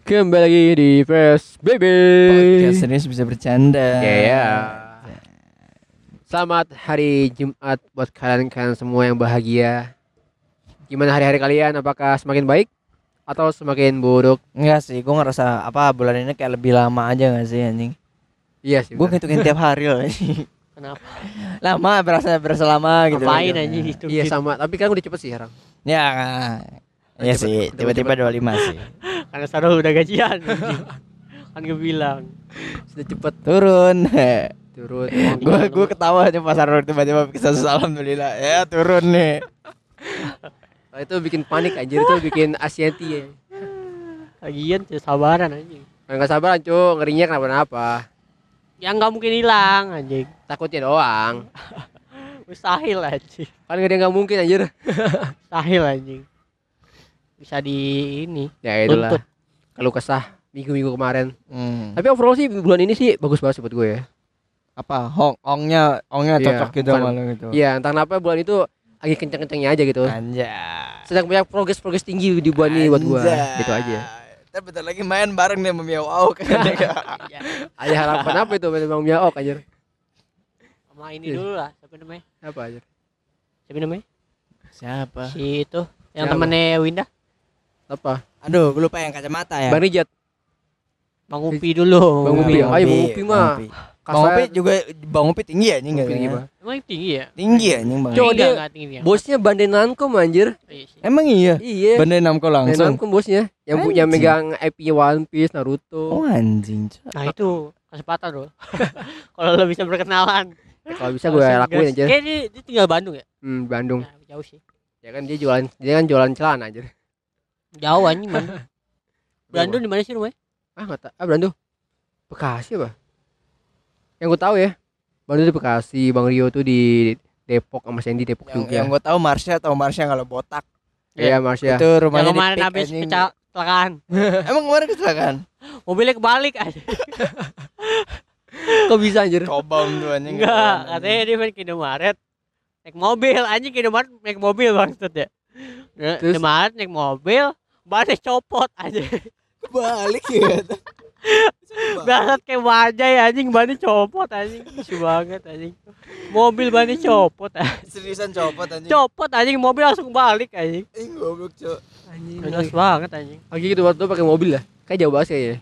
Kembali lagi di PSBB Podcast serius bisa bercanda. Ya. Selamat hari Jumat buat kalian semua yang bahagia. Gimana hari-hari kalian? Apakah semakin baik atau semakin buruk? Enggak sih, gue ngerasa bulan ini kayak lebih lama aja gak sih anjing. Iya sih. Gue ngitungin tiap hari loh. Kenapa? Lama berasa lama gitu. Ngapain anjing itu? Iya sama, tapi kan udah cepet sih sekarang. Ya. Iya sih, tiba-tiba 25 sih. Karena Sarul udah gajian anjing. Kan gue bilang Sudah cepet Turun. turun. Gue ketawa aja pas Arul tiba-tiba kisah alhamdulillah. Ya turun nih. Oh, itu bikin panik anjir, itu bikin asianti ya. lagian sabaran anjing. Enggak sabar cu, ngerinya kenapa-napa. Yang nggak mungkin hilang anjing. Takutnya doang. Mustahil anjing. Kan gak ada yang gak mungkin anjir. Mustahil anjing. Bisa di ini. Ya itulah. Tuntut. Kalau kesah minggu-minggu kemarin. Hmm. Tapi overall sih bulan ini sih bagus banget sih buat gue ya. Apa? Ongnya Iya, cocok gitu bukan. sama lo gitu. Iya, entah kenapa bulan itu lagi kenceng-kencengnya aja gitu. Anjay. Sedang punya progres tinggi di bulan ini buat gue. Anjay. Gitu aja. Kita bentar lagi main bareng nih sama Miao Au kan. Ada harapan apa itu memang Miaok anjir? Sama ini dulu lah. Siapa namanya? Apa anjir? Siapa namanya? Siapa? Si itu yang Siapa? temennya Winda. Apa? Aduh, gue lupa yang kacamata ya. Bang Rijat. Bang Upi dulu. Bang Upi. Ayo Bang Upi mah. Bang Upi juga Bang Upi tinggi ya anjing tinggi, katanya. Bang. Emang tinggi ya? Tinggi ya anjing Bang. Cowok Enggak, dia- enggak tinggi dia. Bosnya Bandai Namco anjir. Iya sih. Emang iya. Iya. Bandai Namco Bandai langsung. Namco bosnya yang punya Anjing. megang IP One Piece, Naruto. Oh anjing. Nah itu kesempatan loh. Kalau lo bisa berkenalan. Ya, kalau bisa gue lakuin aja. Kayak dia tinggal Bandung ya? Bandung. Nah, jauh sih. Ya kan dia kan jualan celana anjir. Jauh anjing Bandung. Bandung di mana sih rumahnya? Enggak tahu. Bandung. Bekasi apa? Yang gue tahu ya. Bandung di Bekasi, Bang Rio tuh di Depok sama Sandy Depok juga. Yang gue tahu Marsha kalau botak. Iya, Marsya. Itu Yang rumahnya di kemarin Pik, habis anjing. kecelakaan. Emang kemarin kecelakaan? Mobilnya kebalik aja. Kok bisa anjir? Cobam tuh anjing. Enggak, katanya dia main ke Indomaret. Naik mobil, anjing ke Indomaret naik mobil maksud ya. Terus? Indomaret naik mobil, bannya copot aja. Balik ya. Banget kayak bajai anjing, bannya copot anjing. Lucu banget anjing. Mobil bannya copot anjing. Seriusan copot anjing. Copot anjing, mobil langsung balik anjing. Goblok, Cok. Jelas banget anjing. Lagi gitu waktu pakai mobil lah. Kayak jauh banget kayaknya.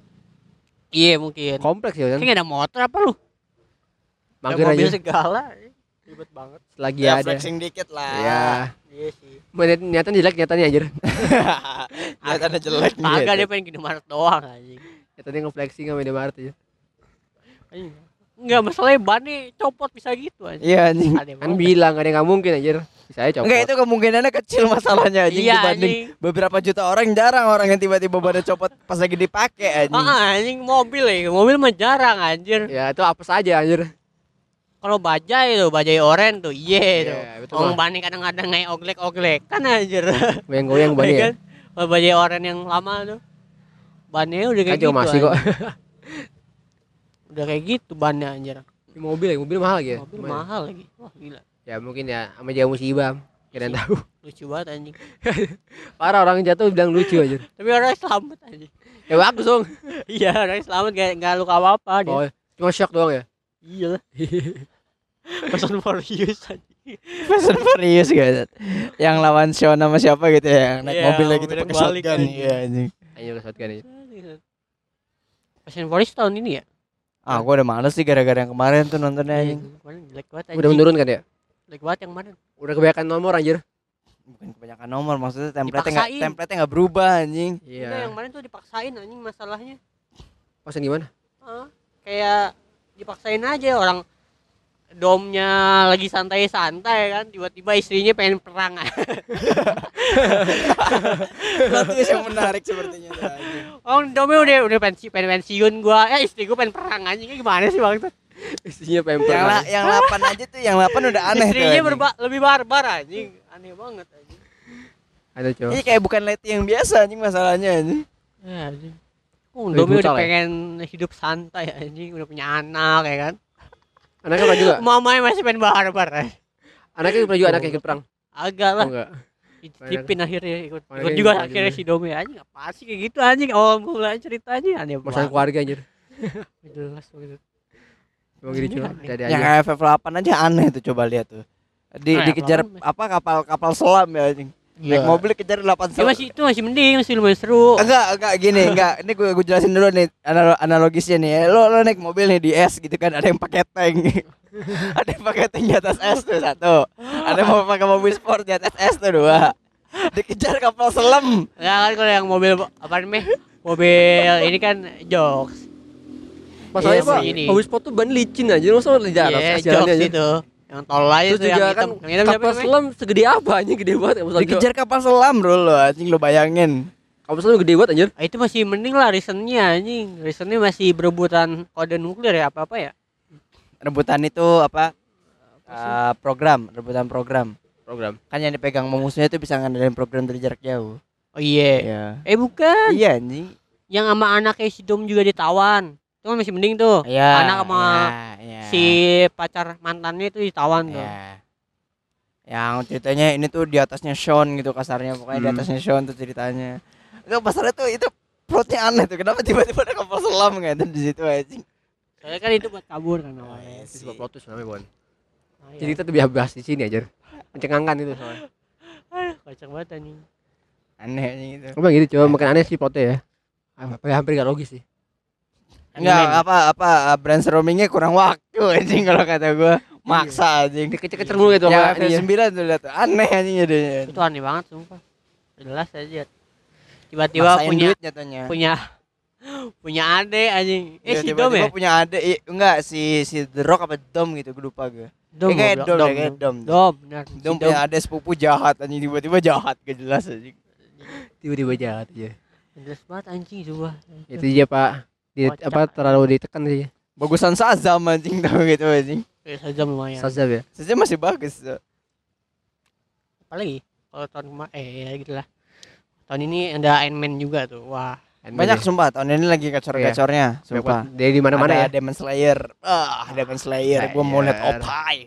Iya mungkin. Kompleks ya kan. Kayak ada motor apa lu? Mager Ada mobil aja. segala. Ribet banget. Lagi Ya ada. flexing dikit lah. Ya. Iya sih. Niatan jelek nyatanya anjir. Kelihatannya jelek Kagak gitu. dia pengen ke Indomaret doang anjing. Nyatanya nge-flexing sama Indomaret aja. Anjing. Enggak masalahnya bannya copot bisa gitu anjing. Iya anjing. Aneh Kan banget. bilang gak ada yang gak mungkin anjir. Bisa aja copot. Enggak, itu kemungkinannya kecil masalahnya anjing Iya, dibanding anjing. beberapa juta orang. Jarang orang yang tiba-tiba badan copot pas lagi dipakai anjing. Anjing mobil ya. Mobil mah jarang anjir. Ya itu apa saja anjir. Kalau bajai tuh, bajai oren tuh. Iya tuh. Iya, betul, Orang Bang. bannya kadang-kadang kayak oglek-oglek kan anjir. Goyang-goyang Iya bannya ya. kan? Kalau bajai oren yang lama tuh. Bannya udah kayak Kan juga gitu. masih kok. anjing. Udah kayak gitu bannya anjir. Di mobil mahal lagi ya. Mobil Lumayan. mahal lagi. Wah gila. Ya mungkin ya sama jamu musibah. Kira tahu. Lucu banget anjing. Parah orang jatuh bilang lucu anjir. Tapi orangnya selamat anjing. Ya bagus dong. Iya orangnya selamat gak luka apa-apa dia. Oh, cuma shock doang ya. Iya lah. Fast and Furious anjing. Fast and Furious guys. Yang lawan Sean sama siapa gitu ya, yang naik Iya, mobilnya gitu mobilnya pakai kebalik, shotgun. anjing. Iya anjing. Ayo shotgun aja. Fast and Furious tahun ini ya? Ah, gua udah males sih gara-gara yang kemarin tuh nontonnya anjing. Kemarin jelek banget Udah menurun kan ya? Jelek banget yang kemarin. Udah kebanyakan nomor anjir. Bukan kebanyakan nomor, maksudnya Dipaksain. template-nya enggak berubah anjing. Enggak, Iya. yang kemarin tuh dipaksain anjing masalahnya. Pasan gimana? Kayak dipaksain aja orang domnya lagi santai-santai kan, tiba-tiba istrinya pengen perang. Plot twist yang menarik sepertinya tuh, anjing. Oh, domnya udah pengen pensiun gua. Istri gua pengen perang anjing. Gimana sih Bang? Istrinya pemper. Yang 8 aja tuh, yang 8 udah aneh tuh. Istrinya anjing. lebih barbar anjing. Aneh banget anjing. Ada cowok. Ini kayak bukan Leti yang biasa anjing masalahnya anjing. Ya anjing. Lebih Domnya udah brutal ya? pengen hidup santai anjing, udah punya anak ya kan. Anaknya pernah juga. Mamanya masih pengen barbar. Anaknya pernah juga anaknya ikut perang. Agak lah. Oh enggak. Dititipin akhirnya ikut Mana juga gitu akhirnya aja. si Dome anjing apa sih kayak gitu anjing awal mulanya ceritanya aneh Masalah banget. keluarga anjir. Jelas gitu. Emang gitu Ini cuma aneh. ada Yang aja. FF8 aja aneh tuh, coba lihat tuh. Dikejar F8 apa kapal selam ya anjing. Iya. Naik mobil kejar 8 Ya selam. itu masih mending, masih lumayan seru. Enggak gini, enggak. Ini gue jelasin dulu nih analogisnya nih. Lo naik mobil nih di es gitu kan, ada yang pakai tank. Ada yang pakai tank di atas es tuh satu. Ada yang mau pakai mobil sport di atas es tuh dua. Dikejar kapal selam. Ya kan kalau yang mobil apa namanya? Mobil ini kan jokes. Masalahnya Iya Pak, sih, ini. mobil sport tuh ban licin aja. Masa di jalan Iya, jalannya jokes aja. itu. Yang tol aja Terus tuh yang juga hitam. kan Yang hitam siapa kapal namanya? selam segede apa anjing, gede banget ya masalah. Dikejar kapal selam bro lo anjing, lo bayangin. Kapal selam gede banget anjir. Ah, itu masih mending lah reasonnya anjing. Reasonnya masih berebutan kode nuklir ya apa-apa ya. Rebutan itu apa? Rebutan program. Program. Kan yang dipegang musuhnya itu bisa ngandelin program dari jarak jauh. Oh iya. Iya. Bukan. Iya anjing. Yang sama anaknya si Dom juga ditawan. Itu kan masih mending tuh. Iya. Anak sama iya. si pacar mantannya itu ditawan tuh. Iya. Yang ceritanya ini tuh di atasnya Sean gitu kasarnya, pokoknya di atasnya Sean tuh ceritanya. Enggak pasarnya tuh itu plotnya aneh tuh. Kenapa tiba-tiba ada kapal selam gitu di situ anjing. Soalnya kan itu buat kabur kan awalnya. Itu sebab plot twist namanya, Bon. Nah, Jadi iya. kita tuh biar bahas di sini aja. Mencengangkan itu soalnya. Kocak banget anjing. Aneh anjing itu. Apa gitu coba makin aneh sih plotnya ya. Hampir gak logis sih. Enggak apa brainstormingnya kurang waktu anjing kalau kata gua. Maksa anjing. Dikecer-kecer mulu gitu Ya sama ininya. F9 tuh lihat tuh. Aneh anjing jadinya. Itu aneh banget sumpah. Jelas aja. Tiba-tiba Maksain punya duit nyatanya. punya ade anjing. Iya, Si Dom tiba-tiba ya? punya adik. Enggak si The Rock apa Dom gitu gue lupa gue. Dom. Kayak goblok. Dom, kayak Dom. Dom, benar. Dom Si punya adik sepupu jahat anjing, tiba-tiba jahat gak jelas anjing. Tiba-tiba jahat aja. Jelas banget anjing coba. Itu dia Pak. Kocak. Apa terlalu ditekan sih. Bagusan Shazam anjing tau gitu anjing. Saja lumayan. Sazab ya. Shazam masih bagus tuh. Apalagi kalau tahun kemarin ya gitu lah. Tahun ini ada Iron Man juga tuh. Wah, Banyak sumpah tahun ini lagi gacor-gacornya, sumpah. Dari mana-mana ya. Ada Demon Slayer. Demon Slayer. Gua mau liat Slayer. Opai.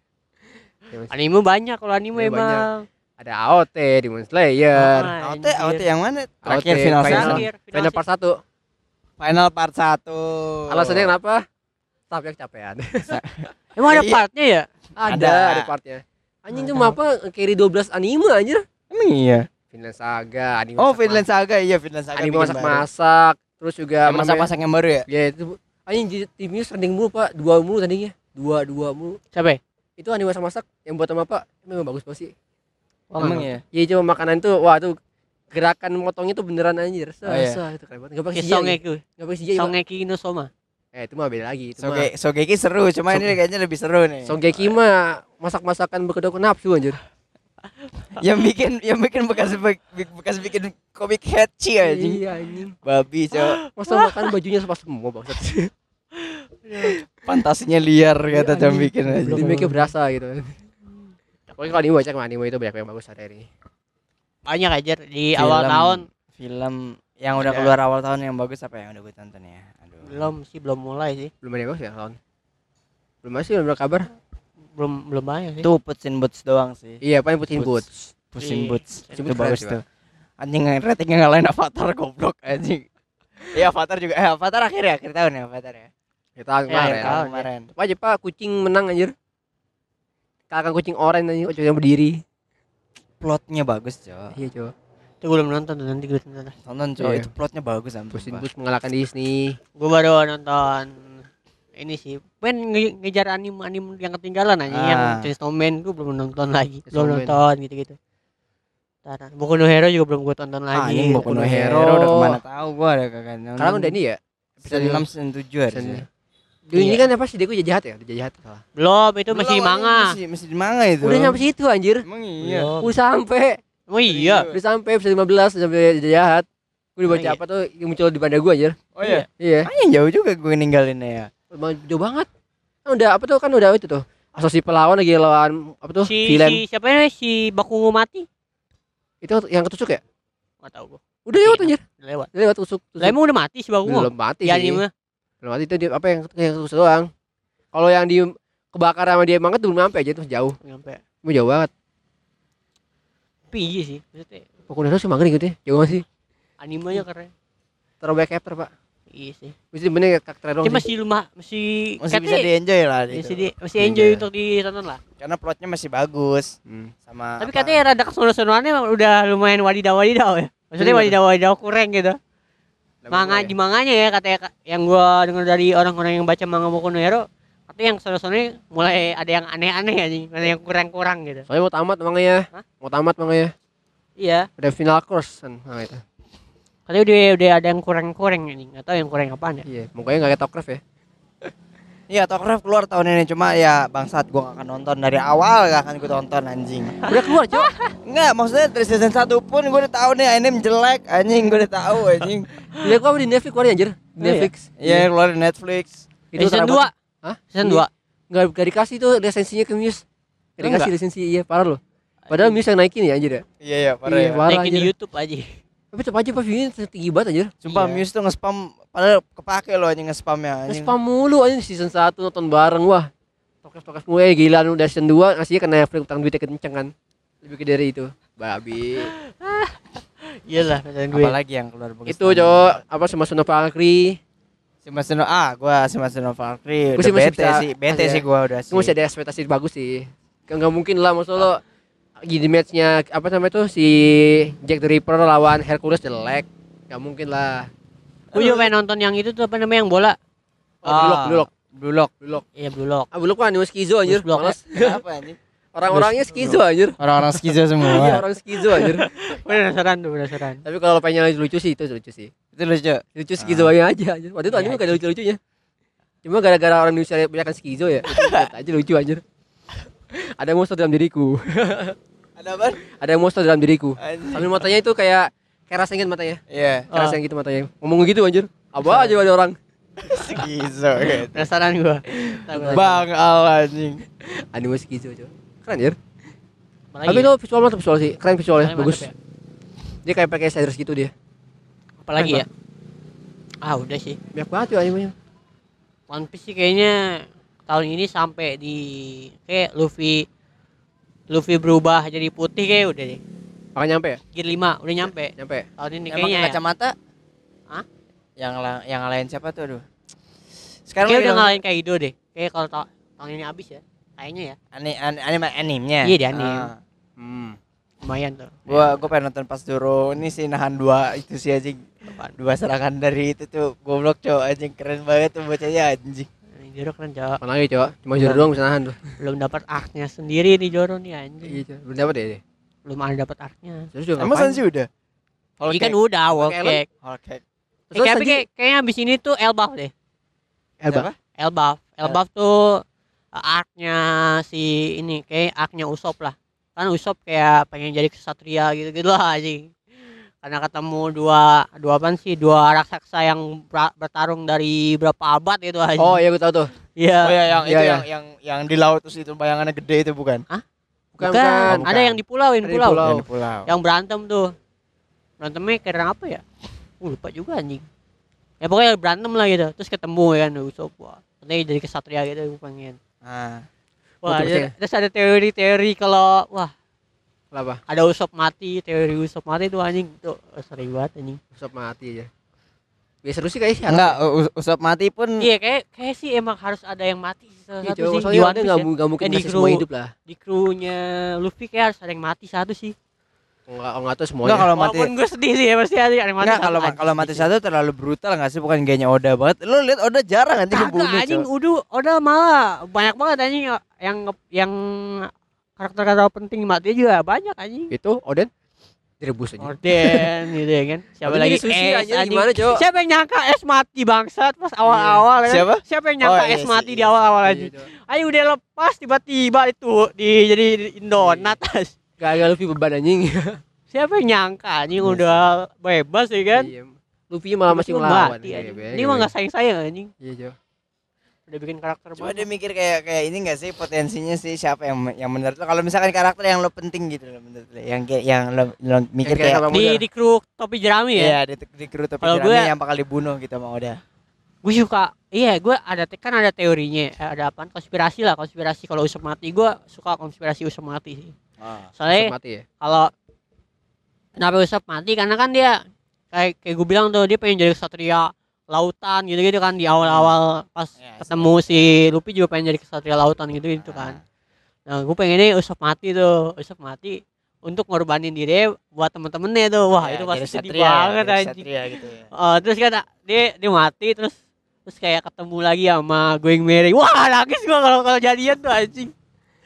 anime banyak kalau anime Iya, banyak. emang. Ada AOT, Demon Slayer. Ah, AOT anjir. yang mana? Terakhir AOT, final final. season. Terakhir, Final part 1. Final part 1. Alasannya kenapa? Staffnya kecapean. Emang ada Iya. partnya ya? ada partnya. Anjing tuh apa carry 12 anime anjir. Emang iya. Vinland Saga, anime Oh, masak- Vinland Saga, iya Vinland Saga. anime bikin masak-masak, terus juga baru. Yang masak-masak yang baru ya? Ya itu anjing timnya trending mulu Pak, 2 mulu tandingnya. 2 mulu. Siapa ya? Itu anime masak-masak yang buat sama Pak, memang bagus banget sih. Oh, Emang nggak. ya? Iya cuma makanan tuh, wah tuh gerakan motongnya tuh beneran anjir. Oh, iya. Itu keren banget. Enggak pakai Kayak CGI. Songeki. Enggak pakai CGI. Pak. Songeki no Soma. Itu mah beda lagi, itu mah. Sogeki seru, cuma ini kayaknya lebih seru nih. Songeki mah masak-masakan berkedok nafsu anjir. yang bikin bekas bikin komik Hachi anjing. Iya anjing. Babi, cowok. Masa makan bajunya sepas semua bangsat. Fantasinya liar kata jam bikin aja. Jadi make berasa gitu. Pokoknya kalau anime baca anime itu banyak yang bagus ada ini. Banyak aja di Film. awal tahun. Film yang udah Ada. keluar awal tahun yang bagus apa yang udah gue tonton ya? Aduh. Belum mulai sih. Belum ada yang bagus ya tahun. Belum masih belum ada kabar. Belum banyak sih. Itu Puss in Boots doang sih. Iya, paling Putin Boots. Puss in Iya. Boots. Puss Itu in Boots bagus keren sih, tuh. Anjing ratingnya ngalahin Avatar goblok anjing. Iya Avatar juga. Avatar akhir tahun ya Avatar ya. Kita akhir kemarin. tahun. Kemarin. Apa aja Pak, kucing menang anjir. Kalahkan kucing oranye anjir, kucing yang berdiri. Plotnya bagus, Cok. Iya, coba. Itu gue belum nonton tuh, nanti gue tonton. Tonton, Cok. Iya. Itu plotnya bagus ampun. Putin Pak. Boots mengalahkan Disney. Gue baru nonton ini sih. Ngejar anime yang ketinggalan aja yang Chainsaw Man gue belum nonton lagi. Chainsaw Belum Man. nonton gitu-gitu. Ntar, Boku no Hero juga belum gue tonton lagi. Anjing Boku no Hero udah kemana tahu gua ada kagak nonton. Sekarang udah ini ya. episode 6 season 7 harusnya. Dulu ini Iya. kan apa sih Deku jahat ya? Udah jahat salah. Belum, itu Belum, masih anjing, manga. Masih di manga itu. Udah nyampe situ anjir. Emang iya. Belum. Udah sampai. Oh iya. Udah sampai episode 15 sampai jahat. Gue dibaca Oh, iya. apa tuh yang muncul di banda gue anjir. Oh iya. Iya. Anjing jauh juga gue ninggalinnya ya. Jauh banget. Kan udah apa tuh kan udah itu tuh. Asosiasi pelawan lagi lawan apa tuh? Si Villain. siapa ya si Bakugo mati? Itu yang ketusuk ya? Enggak tahu gue. Udah lewat anjir. Lewat. Udah lewat tusuk. Lah emang udah mati si Bakugo? Belum mati Ya sih. anime. Belum mati itu dia, apa yang ketusuk doang. Kalau yang di kebakar sama dia banget belum sampai aja tuh jauh. Nyampe. Mau jauh banget. Tapi Tapi iya sih, maksudnya Boku no Hero sih mangga gitu ya. Jangan sih. animenya keren. Terlalu banyak chapter, Pak. Iya sih. Mesti bener karakter doang. Cuma Sih. masih Masih bisa katanya di-enjoy lah masih gitu. masih enjoy Iya. untuk ditonton lah. Karena plotnya masih bagus sama Tapi apa, katanya rada kesono-sonoannya udah lumayan wadidaw ya. Maksudnya Gimana? wadidaw kurang gitu. namanya Di manganya ya katanya yang gua dengar dari orang-orang yang baca manga Boku no Hero, katanya yang sono-sononya mulai ada yang aneh-aneh anjing, ada yang kurang-kurang gitu. Soalnya mau tamat manga ya. Hah? Mau tamat manga ya. Iya, Ada final course kan manga itu. katanya udah ada yang kurang-kurang anjing, enggak tahu yang kurang apaan ya. Iya, mukanya enggak kayak Tokcraft ya. Iya, Tokcraft keluar tahun ini, cuma ya bangsat gua gak akan nonton dari awal, gak akan gua tonton anjing. Udah keluar, Cok. Enggak, maksudnya dari season 1 pun gua udah tahu nih anime jelek anjing, gua udah tahu anjing. Lihat gua di Netflix keluar anjir. Di Oh, iya? Netflix. Iya, keluar di Netflix. Season terang 2. banget. Hah? Season Iya. 2. Enggak dikasih tuh lisensinya ke Muse. Enggak dikasih Enggak? lisensi, iya parah loh. Padahal Muse yang naikin ya anjir ya. Iya, iya, parah Iya, ya. parah Naikin di anjir. YouTube aja. Tapi tetap aja Pak view-nya tinggi banget anjir. Sumpah Iya. Muse tuh nge-spam padahal kepake loh anjing nge-spamnya anjing. Nge-spam mulu anjing season 1 nonton bareng wah. Tokcraft mulai gila lu udah season 2 ngasihnya ke Netflix utang duitnya kenceng kan. Lebih gede dari itu. Babi. Iyalah, kata gue. Apalagi yang keluar bagus. Itu Cok, apa sama Son of Valkyrie. Gua Shimasen no Valkyrie. Gua Udah sih masih bete bisa- sih, bete masih sih ya. gua udah sih. Itu masih ada ekspektasi bagus sih. Enggak mungkin lah maksud lo gini matchnya apa namanya tuh si Jack the Ripper lawan Hercules jelek. Enggak mungkin lah. Gue juga pengen nonton yang itu tuh apa namanya yang bola. Oh, Blue Lock. Iya, Blue Lock. Ah, belum kan anime skizo anjir. Blue Lock. Males. Kenapa anjing? Orang-orangnya skizo anjir. Orang-orang skizo Iya, semua. orang skizo anjir. Penasaran tuh, penasaran. Tapi kalau pengen lucu sih itu lucu sih. Itu lucu. Lucu skizo aja anjir. Waktu itu anime gak ada lucu-lucunya. Cuma gara-gara orang Indonesia banyak skizo ya. Lihat aja lucu anjir. Ada monster dalam diriku. Ada apa? Ada monster dalam diriku. Anjing. Sambil matanya itu kayak rasengin matanya. Iya, Raseng gitu matanya. Ngomong gitu anjir. Apa aja ada orang. skizo gitu. Penasaran gua. Bang Al anjing. Anime skizo coy. Keren anjir. Apalagi Tapi ya? itu visual mantap visual sih. Keren visualnya, Visualnya bagus. mantap ya? Dia kayak pakai shaders gitu dia. Apalagi Keren, ya? Ah, udah sih. Banyak banget tuh animenya. One Piece sih kayaknya tahun ini sampai di kayak Luffy berubah jadi putih kayak udah deh. Makanya nyampe ya? Gear 5 udah nyampe Nyampe. tahun ini Emang kayaknya ya. kacamata? Hah? Yang ngalahin siapa tuh aduh? Sekarang Kayak lagi udah dong. ngalahin Kaido deh. Kayak kalau tahun ini habis ya. Kayaknya ya. Animenya. Iya, di anime. Ah. Lumayan tuh. Gua pengen nonton pas Zoro ini sih nahan dua itu sih anjing. Dua serangan dari itu tuh goblok cowok anjing keren banget tuh bocahnya anjing. Joro keren, Cok. Mana lagi coba? Cuma Zoro doang bisa nahan tuh. Belum dapat arc-nya sendiri nih Joro nih anjing. Iya coba. Belum dapat ya. Belum ada dapat arc-nya. Terus juga Emang ngapain? Sanji udah? Ini kan udah Whole Whole Cake. Cake. Oke. Terus Tapi Sanji kayaknya abis ini tuh Elbaf deh. Elba. Elbaf tuh arc-nya si ini kayak arc-nya Usopp lah. Kan Usopp kayak pengen jadi kesatria gitu-gitu lah anjing. Karena ketemu dua apaan sih? Dua raksasa yang bertarung dari berapa abad itu anjing. Oh iya gue tahu tuh. Iya. Oh ya yang Iya, itu iya. yang di laut terus itu bayangannya gede itu bukan? Bukan, Bukan. bukan. Ada yang di pulau, Ada di pulau. pulau. Yang di pulau. Yang berantem tuh. Berantemnya kira apa ya? Lupa juga anjing. Ya pokoknya berantem lah gitu. Terus ketemu ya kan Usopp. Wah, katanya jadi kesatria gitu gue pengen. Ah. Wah, Betul, betul. terus ada teori-teori kalau wah Apa? ada Usopp mati, teori Usopp mati tuh anjing tuh sering banget anjing. Usap mati aja. Biasa seru sih kayaknya sih. Enggak, Usopp mati pun Iya kayak sih emang harus ada yang mati salah Iya, satu coba. sih. Soalnya One ada Piece nggak ya. nggak mungkin Eh, di ngasih semua kru- hidup lah. Di krunya Luffy kayak harus ada yang mati satu sih. Enggak tuh semuanya. enggak kalau mati. Walaupun gue sedih sih ya pasti ada yang mati. Enggak kalau mati satu terlalu brutal enggak sih bukan gayanya Oda banget. Lu lihat Oda jarang anjing Kagak ngebunuh. anjing Cok. udah malah banyak banget anjing yang karakter-karakter penting mati juga banyak anjing. Itu Oden direbus aja. Orden gitu ya kan. Siapa Oden lagi jadi sushi Es, aja, anjing. gimana, Cok? Siapa yang nyangka Es mati bangsat pas awal-awal ya kan? Siapa? Siapa yang nyangka Oh, iya Es sih, mati iya di sih. awal-awal Iya, anjing. Cok. Ayo udah lepas tiba-tiba itu jadi donat. Gak Luffy beban anjing. Siapa yang nyangka anjing Iya udah bebas ya kan? Iya. Luffy malah masih Tiba-tiba melawan. mati, Iya, anjing. iya, Ini iya. mah enggak sayang-sayang anjing. Iya, Cok. Udah bikin karakter Coba banget. dia mikir kayak ini enggak sih potensinya sih siapa yang menurut lo kalau misalkan karakter yang lo penting gitu lo menurut lo yang lo mikir kayak kayak sama Di muda. di kru topi jerami ya. iya di kru topi Kalau jerami gue- yang bakal dibunuh gitu sama Oda. Gue suka gue ada teorinya ada apaan konspirasi kalau Usopp mati gue suka konspirasi Usopp mati sih Ah. soalnya Mati ya. kalau Kenapa Usopp mati? Karena kan dia kayak gue bilang tuh, dia pengen jadi kesatria lautan gitu-gitu kan di awal-awal pas Ya, ketemu si Luffy juga pengen jadi kesatria lautan gitu kan. Nah, gue pengennya Usopp mati tuh. Usopp mati untuk ngorbanin diri buat temen-temennya tuh. Wah, Ya, itu pasti jadi sedih satria, banget jadi anjing. satria gitu ya. Terus kan dia mati terus kayak ketemu lagi sama Going Merry. Wah, nangis gua kalau jadian tuh anjing.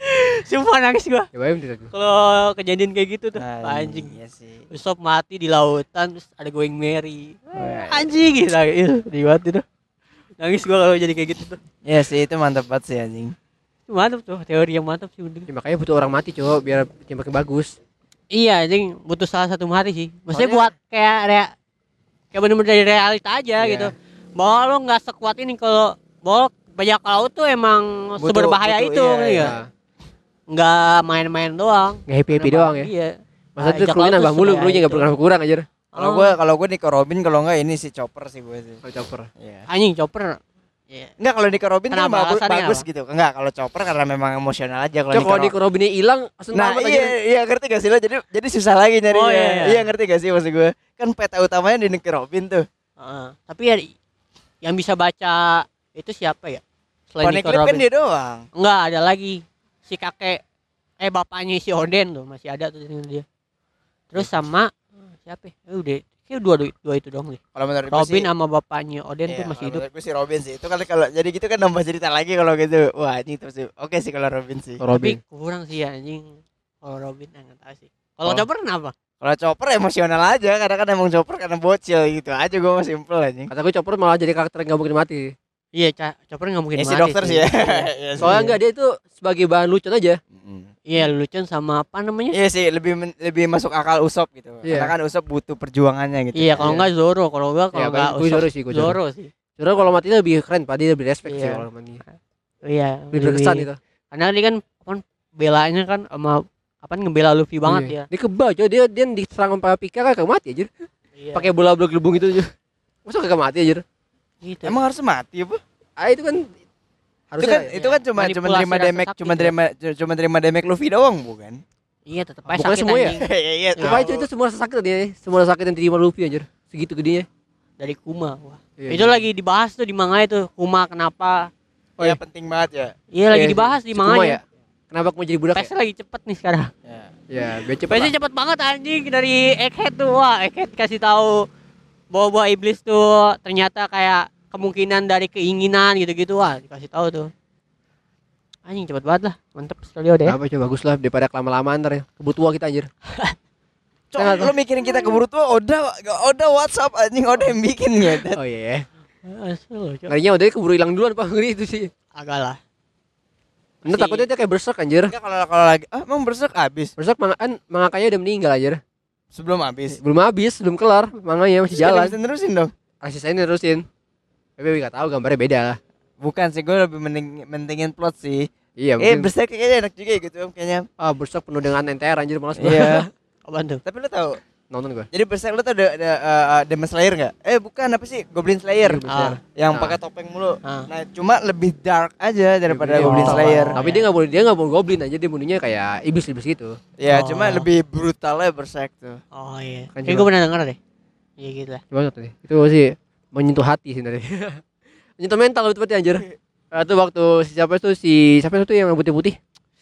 Sumpah nangis gua. Cobain tuh. Kalau kejadian kayak gitu tuh, anjing. Iya sih. Usopp mati di lautan terus ada Going Merry. Wah. Anjing gitu. Di banget itu. Nangis gua kalau jadi kayak gitu tuh. Iya sih, itu mantap banget sih anjing. Mantap tuh, teori yang mantap sih udah. Ya, makanya butuh orang mati cowok biar tim makin bagus. Iya, anjing butuh salah satu mati sih. Maksudnya Soalnya- buat kayak bener-bener dari realita aja Iya. gitu. Bahwa lo nggak sekuat ini kalau bahwa bajak laut tuh emang seberbahaya itu ya. Nggak main-main doang. Nggak happy doang ya. Iya. Masa tuh Bajak krunya laut nambah tuh mulu, sebaya krunya nggak itu. pernah kurang aja. Kalau gue Nico Robin, kalau enggak ini si Chopper sih gue sih. Kalau chopper. Iya. Anjing Chopper. Iya. Enggak, kalau Nico Robin tuh Kenapa? bagus, Alasannya bagus apa? gitu. Enggak, kalau Chopper karena memang emosional aja kalau Cok kalau Nico Nico Robinnya hilang, langsung Nah, tamat iya, aja. iya ngerti gak sih lo? Jadi susah lagi nyarinya. Oh, iya. Iya, ngerti gak sih maksud gue? Kan peta utamanya di Nico Robin tuh. Tapi ya yang bisa baca itu siapa ya? Selain Nico Poneglyph kan Robin. dia doang. Enggak, ada lagi si kakek bapaknya si Oden tuh masih ada tuh dia. Terus sama siapa ya? Udah kayak dua itu doang deh. Kalau menurut gue Robin sih, sama bapaknya Oden tuh iya, masih kalau hidup. menurut gue sih Robin sih. Itu kalau jadi gitu kan nambah cerita lagi kalau gitu. Wah, ini terus sih. Oke sih kalau Robin sih. Robin. Tapi kurang sih ya anjing. Kalau Robin enggak tahu sih. Kalau Oh. Chopper kenapa? Kalau Chopper emosional aja, karena kan emang Chopper karena bocil gitu aja, gue mah simple aja. Kata gue chopper malah jadi karakter yang gak mungkin mati. Iya, Chopper enggak mungkin Ya si mati. dokter sih ya. Iya sih. Soalnya enggak, dia itu sebagai bahan lucu aja. Iya, Lucen sama apa namanya? Iya sih, lebih masuk akal Usopp gitu. Iya. Karena kan Usopp butuh perjuangannya gitu. Iya, kalau enggak Zoro, kalau enggak Iya, enggak gue Zoro sih, gue Zoro. Zoro sih. Zoro kalau mati lebih keren, Pak. Dia lebih respect sih Iya. kalau mati. Iya, Lebih berkesan gitu. karena dia kan belanya kan sama ngebela Luffy banget Iya. ya. Dia kebal coy, dia diserang sama Pika kagak mati aja. Iya. Pakai bola gelembung gitu aja. Masa kagak mati aja. Gitu. Emang harus mati apa? Itu kan harusnya Itu kan cuma manipulasi terima rasa damage, sakit ya. cuma terima damage Luffy doang, bukan? Iya, tetep aja Bukan sakit semua ya? anjing. Iya, Coba itu semua rasa sakit dia. Semua rasa sakit yang diterima Luffy anjir. Segitu gedenya. Dari Kuma. Wah. Iya, Itu iya. lagi dibahas tuh di manga itu. Kuma kenapa? Oh ya penting banget ya. Iya, lagi Iya, dibahas di si Kuma manganya. ya. Kenapa mau jadi budak ya? Pace lagi cepet nih sekarang. Ya, biar cepet. Pace lah. cepet banget anjing dari Egghead tuh. Wah, Egghead kasih tahu bahwa iblis tuh ternyata kayak kemungkinan dari keinginan gitu-gitu. Wah, dikasih tahu tuh. Anjing cepet banget lah. Mantep studio deh. Apa coba bagus lah daripada kelama-lama ntar ya. Keburu tua kita anjir. Cok, lo mikirin kita keburu tua, Oda WhatsApp anjing, Oda yang bikin gitu. Oh iya. Asal, Cok. Ngerinya udah keburu hilang duluan Pak. Ngeri itu sih. Agak lah. Bener Si- takutnya dia kayak berserk anjir. Enggak kalau lagi emang berserk habis Berserk mangakanya udah meninggal anjir. sebelum habis. Belum habis, belum kelar. Manganya masih jalan. Terusin dong. Asistennya terusin. Tapi enggak tahu gambarnya beda lah. Bukan sih, gue lebih mentingin plot sih. Iya, mungkin. Berserk kayaknya enak juga gitu kayaknya. Ah, Berserk penuh dengan NTR anjir malas gua. Iya. Apaan tuh? Tapi lo tahu, Nonton gua. jadi Berserk lo tau ada Demon Slayer enggak? Bukan, apa sih? Goblin Slayer. Ah. Yang Ah. pakai topeng mulu. Ah. Nah, cuma lebih dark aja daripada Iya, Goblin iya. Slayer. Tapi dia enggak boleh goblin aja, dia bunuhnya kayak iblis-iblis gitu. Ya, Oh. cuma lebih brutalnya Berserk tuh. Oh iya. Kan Kayak coba. gue pernah denger deh. Iya gitu lah. Coba nonton deh. Itu sih menyentuh hati sih dari. Menyentuh mental lebih tepatnya anjir. Itu waktu siapa itu yang putih-putih?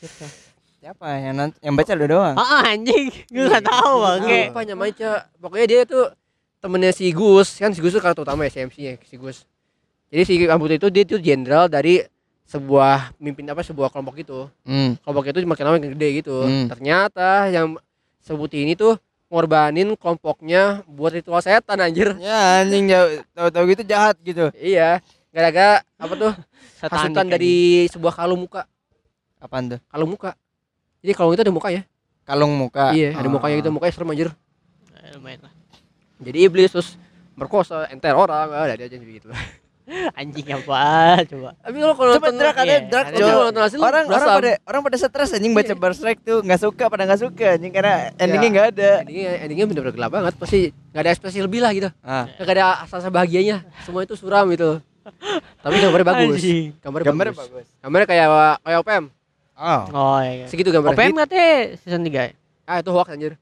Siapa yang baca lo doang? Anjing. Gue gak tahu bangke. Apa namanya, Cak? Pokoknya dia tuh temennya si Gus, kan si Gus tuh karakter utama ya, si MC-nya si Gus. Jadi si Rambut itu dia tuh jenderal dari sebuah sebuah kelompok itu. Kelompok itu makin lama makin gede gitu. Ternyata yang seputih ini tuh ngorbanin kelompoknya buat ritual setan anjir. Ya anjing, tahu-tahu gitu jahat gitu. Iya, gara-gara apa tuh? Satanik Hasutan anjing. dari sebuah kalung muka. Apaan tuh? Kalung muka. Jadi kalung itu ada mukanya. Kalung muka. Iya, ada Ah. mukanya gitu, mukanya serem anjir. Lumayan lah. Jadi iblis terus merkosa, enter orang, ada aja gitu. Anjing apa coba. Tapi kalau Coba nonton Drak, ada iya, Drak, ada Jo. Drak. Nonton hasil Orang pada stres anjing baca Iya. Berserk tuh, nggak suka anjing karena endingnya nggak ada. endingnya bener-bener gelap banget, pasti nggak ada ekspresi lebih lah gitu, Ah. nggak ada asa-asa bahagianya, semua itu suram gitu. Tapi gambarnya bagus, Anjing. gambarnya bagus. Gambarnya kayak OPM, Oh. Oh iya. segitu gambarnya. OPM katanya season 3 ya? Itu hoax anjir.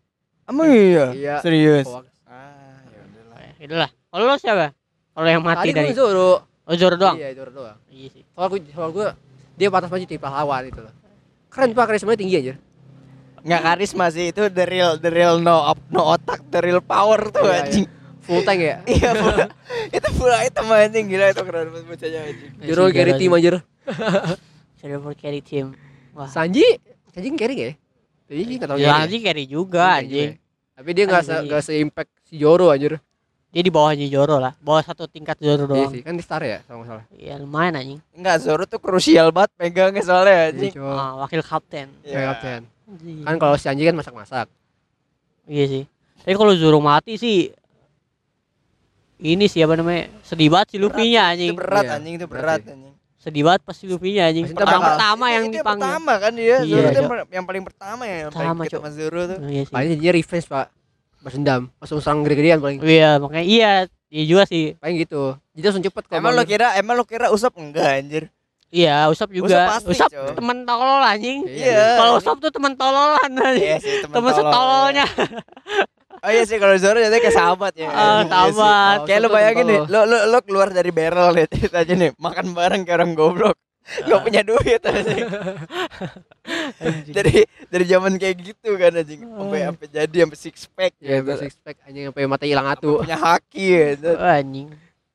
Emang iya? Iya. Serius? Hoax. Ya udahlah. Itulah. Kalau lo siapa? Kalau yang mati Tadi dari gue Zoro. Zoro doang. Iya, Zoro doang. Iya sih. Kalau gue dia pantas maju jadi pahlawan gitu loh. Keren Pak, karismanya tinggi aja. Nggak karisma sih, itu the real no otak, the real power tuh Iya, anjing. Full tank ya. Iya, itu full item anjing, gila itu keren banget bocahnya anjing. Zoro carry team aja. Zoro for carry team. Wah. Sanji carry nggak ya? Sanji nggak tahu Ya carry. Sanji carry juga anjing. Tapi dia nggak Sanji. se-impact si Zoro anjir. Dia di bawahnya Zoro lah. Bawah satu tingkat Zoro Iya doang. sih, kan di star ya kalau nggak salah. Iya lumayan anjing. Enggak, Zoro tuh krusial banget pegangnya soalnya anjing. Iya, cowok. Wakil kapten. Kayak kapten. Anjing. Kan kalau si Sanji kan masak-masak. Iya sih. Tapi kalau Zoro mati sih ini sih apa namanya? Sedih banget si Luffy-nya anjing. Itu berat Iya, anjing, itu berat berat ya. anjing. Sedih banget pas si Luffy-nya anjing. Pasti Orang bakal- pertama yang Itu dipanggil. pertama kan dia, Iya, Zoro tuh Cok. yang paling pertama ya, yang Pertama, paling kita Cok. sama Zoro tuh. Iya sih. Paling dia revenge Pak. Balas dendam. Langsung serang gede-gedean paling. Iya, makanya iya juga sih. Paling gitu. Jadi langsung cepet kalau Emang bangun. lo kira Usop enggak anjir? Iya, Usop juga. Usop pasti, Usop Cok. teman tolol anjing. Iya. Kalau Usop tuh teman tololan anjing. Iya sih, Teman setololnya. Oh iya sih, kalau Zoro jadinya kayak sahabat ya. Ah, Iya sih. sahabat. Kayak lu Usop tuh bayangin nih, tolol. lo keluar dari barrel nih ceritanya nih, makan bareng kayak orang goblok. Gak punya duit anjing. dari zaman kayak gitu kan anjing. Sampai jadi sampai six pack. Ya, gitu. six pack anjing sampai mata hilang atu. Punya haki gitu. Anjing.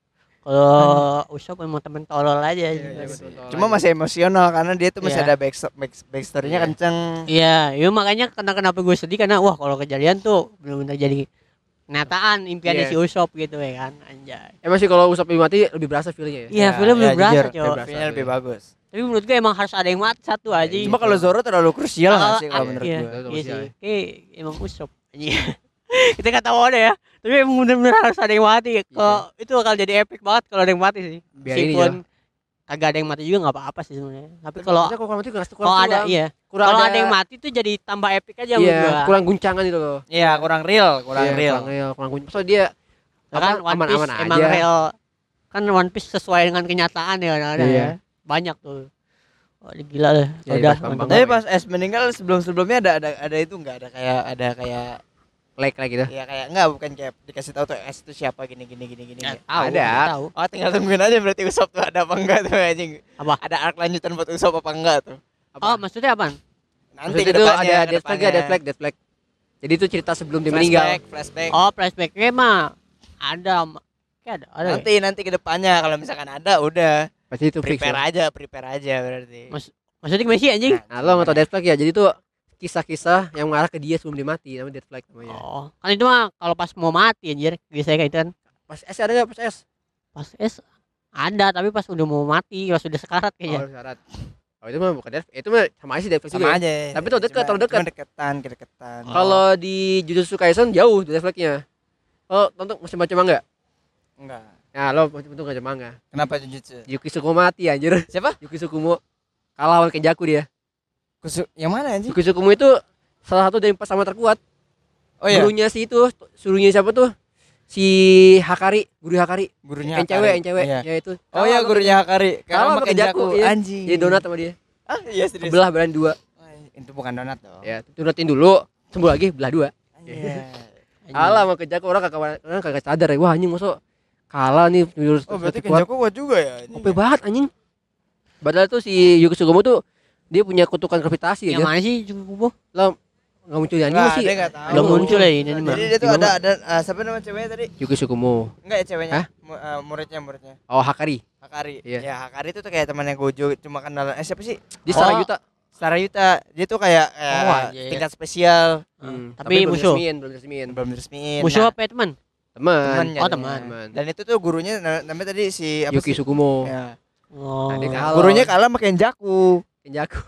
Kalau Usop emang temen tolol aja. Iya, anjing. betul. Cuma masih emosional karena dia tuh masih Iya. ada backstory-nya Iya. kenceng. Iya, ya makanya kenapa gue sedih karena wah kalau kejadian tuh benar-benar jadi kenyataan impiannya Iya. si Usop gitu ya kan, anjay. Emang sih kalau Usop mati lebih berasa feelnya ya. Iya, film lebih berasa, jujur, Cok. berasa. filmnya lebih bagus. Tapi menurut gue emang harus ada yang mati satu aja. Iya, Cuma kalau Zoro terlalu krusial nggak sih kalau iya. menurut iya, gue? Betul, iya betul, sih. Kayak emang Usop anjing. Kita nggak tahu ada ya. Tapi emang benar-benar harus ada yang mati. Kalau itu bakal jadi epic banget kalau ada yang mati sih. Biar ini Meskipun kagak ada yang mati juga nggak apa-apa sih sebenarnya. Tapi kalau kalau mati kurang ada iya. kurang Kalau ada yang mati tuh jadi tambah epic aja menurut iya, gua. kurang guncangan gitu loh. Iya, kurang real, Iya, kurang guncangan. Soalnya dia Ya kan One Piece aman-aman emang aja. real. Kan One Piece sesuai dengan kenyataan ya ada Iya. ya. Banyak tuh. Wah, gila lah. Ya, Udah. pas Bambang. Tapi pas Es meninggal sebelumnya ada itu enggak ada kayak like gitu. ya kayak enggak bukan kayak dikasih tahu tuh Es itu siapa gini. Ya, Ya. tahu, Ada. kita tahu. Oh, tinggal tungguin aja berarti Usop tuh ada apa enggak tuh anjing. Apa? Ada arc lanjutan buat Usop apa enggak tuh? Oh, maksudnya apaan? Nanti Maksudnya ke itu depannya, ada ke death flag, depannya. death flag. Jadi itu cerita sebelum dia meninggal. Flashback. Oh, flashbacknya mah ada. Kayak ada. Ya? Nanti ke depannya kalau misalkan ada udah Pasti itu fix. Ya. prepare aja berarti. Maksudnya gimana sih anjing? Nah, lo nggak tau death flag ya. Jadi tuh kisah-kisah yang mengarah ke dia sebelum dia mati, namanya death flag namanya. Oh, kan itu mah kalau pas mau mati anjir, biasanya kayak itu kan. Pas S ada nggak pas S? Pas ada, tapi pas udah mau mati, pas udah sekarat kayaknya. Oh, syarat. Oh, itu mah bukan death, itu mah sama aja sih death flag juga. Sama ya. aja. Tapi tuh dekat, terlalu dekat. Cuma deketan. Kalau di Jujutsu Kaisen jauh death flagnya. Oh, tonton masih baca manga? Enggak. Nah, lo untung baca manga. Kenapa Jujutsu? Yuki Tsukumo mati anjir. Siapa? Yuki Tsukumo kalah lawan Kenjaku dia. Yang mana anjing? Yuki Tsukumo itu salah satu dari 4 sama terkuat. Oh iya. Gurunya si itu, suruhnya siapa tuh? Si Hakari, guru Hakari. Gurunya Yang cewek, Iya. ya itu. Oh iya, gurunya Hakari. Kalah sama Kenjaku, iya. Anjing. Jadi donat sama dia. Ah, iya serius. Belah belah dua. Itu bukan donat dong. Ya, donatin dulu, sembuh lagi belah dua. Iya. Kalah sama Kenjaku, orang kagak sadar ya. Wah, anjing masuk kalah nih jurus Oh, berarti terkuat. Kenjaku kuat juga ya. anjing. OP banget anjing. Padahal tuh si Yuki Tsukumo tuh dia punya kutukan gravitasi Yang aja. mana sih cukup? Enggak muncul di anime Enggak, sih. dia enggak tahu. Belum muncul ya ini mah. Jadi dia tuh Gimana? ada siapa nama ceweknya tadi? Yuki Tsukumo. Enggak ya ceweknya. Hah? Muridnya. Oh, Hakari. Hakari. Iya. Ya, Hakari itu tuh kayak temannya Gojo, cuma kenal siapa sih? Di Oh. Sarayuta. Sarayuta. Dia tuh kayak Oh, anjir. tingkat spesial. Tapi belum musuh. resmiin, belum resmiin. Belum diresmiin. Musuh Nah, apa ya teman? Teman. temannya Oh, dia. teman. Dan itu tuh gurunya namanya tadi si apa Yuki sih? Tsukumo. Ya. Oh. Nah, dia kalah. Gurunya kalah sama Kenjaku. Kenjaku.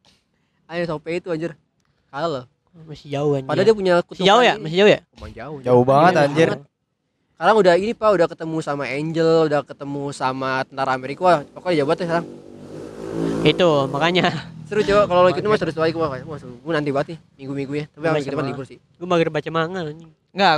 Ayo sampai itu anjir. Kalah loh. Masih jauh anjir. Padahal dia punya Masih jauh ya? ini. Masih jauh ya? Emang jauh. Jauh banget Jauh anjir. banget. Sekarang udah ini Pak, udah ketemu sama Angel, udah ketemu sama tentara Amerika. Wah, pokoknya jauh banget ya sekarang. Itu makanya Seru coba kalau lo ikut mah seru sekali gua. Wah, gue nanti banget nih minggu-minggu ya. Tapi Sama hari kita sama. libur sih. gue mager baca manga anjing. Enggak,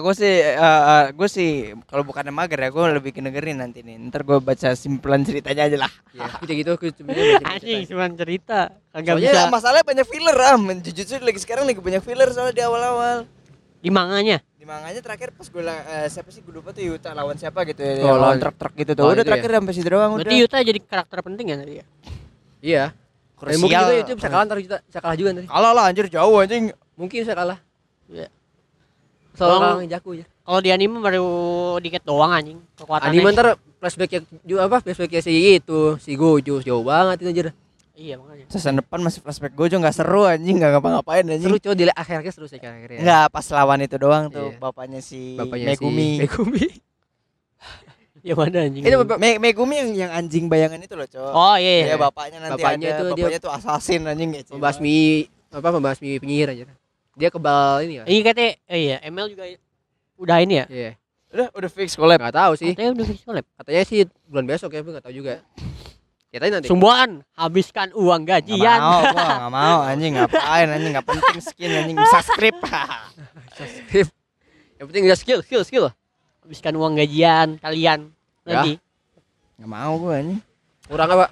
gue sih kalau bukannya mager ya, gue lebih ke dengerin nanti nih. Ntar gue baca simpulan ceritanya aja lah. Iya, kita gitu aku sebenarnya Anjing cuma cerita. Kagak Soalnya bisa. masalahnya banyak filler Jujutsu lagi sekarang lagi banyak filler soalnya di awal-awal. Di manganya. Di manganya terakhir pas gue siapa sih gue lupa tuh Yuta lawan siapa gitu ya. Oh, lawan lawan- truk-truk gitu tuh. oh, Udah itu terakhir sampai situ doang udah. Berarti Yuta jadi karakter penting ya tadi ya? Iya. Dan mungkin juga itu bisa kalah ntar bisa kalah juga nanti. Kalah lah anjir jauh anjing. Mungkin bisa kalah. Iya. Soalnya Kalau- kalah Jaku ya. Kalau di anime baru dikit doang anjing kekuatannya. Anime ntar flashback juga apa? Flashbacknya si itu, si Gojo jauh banget itu anjir. Iya makanya. Season depan masih flashback Gojo enggak seru anjing, enggak ngapa-ngapain anjing. Seru coba di akhirnya seru sih akhirnya. Enggak, pas lawan itu doang tuh Iya. bapaknya si Bapaknya Megumi. si Megumi. Yang mana anjing? Itu bapak Megumi yang anjing bayangan itu loh, Cok. Oh iya. Iya, Iya. bapaknya nanti Bapaknya ada. itu dia- Bapaknya tuh assassin anjing gitu. membasmi penyihir aja. Dia kebal ini ya. Iya katanya iya ML juga udah ini ya? Iya. Udah fix collab. Enggak tahu sih. Katanya udah fix collab. Katanya sih bulan besok ya, enggak tahu juga. Kita nanti. Sumbuan, habiskan uang Enggak gajian. mau, gua enggak mau anjing, ngapain anjing, enggak penting skin anjing, bisa script. Subscribe. Yang penting dia skill. Habiskan uang gajian kalian Ya. nanti. Enggak mau gua anjing. Kurang apa?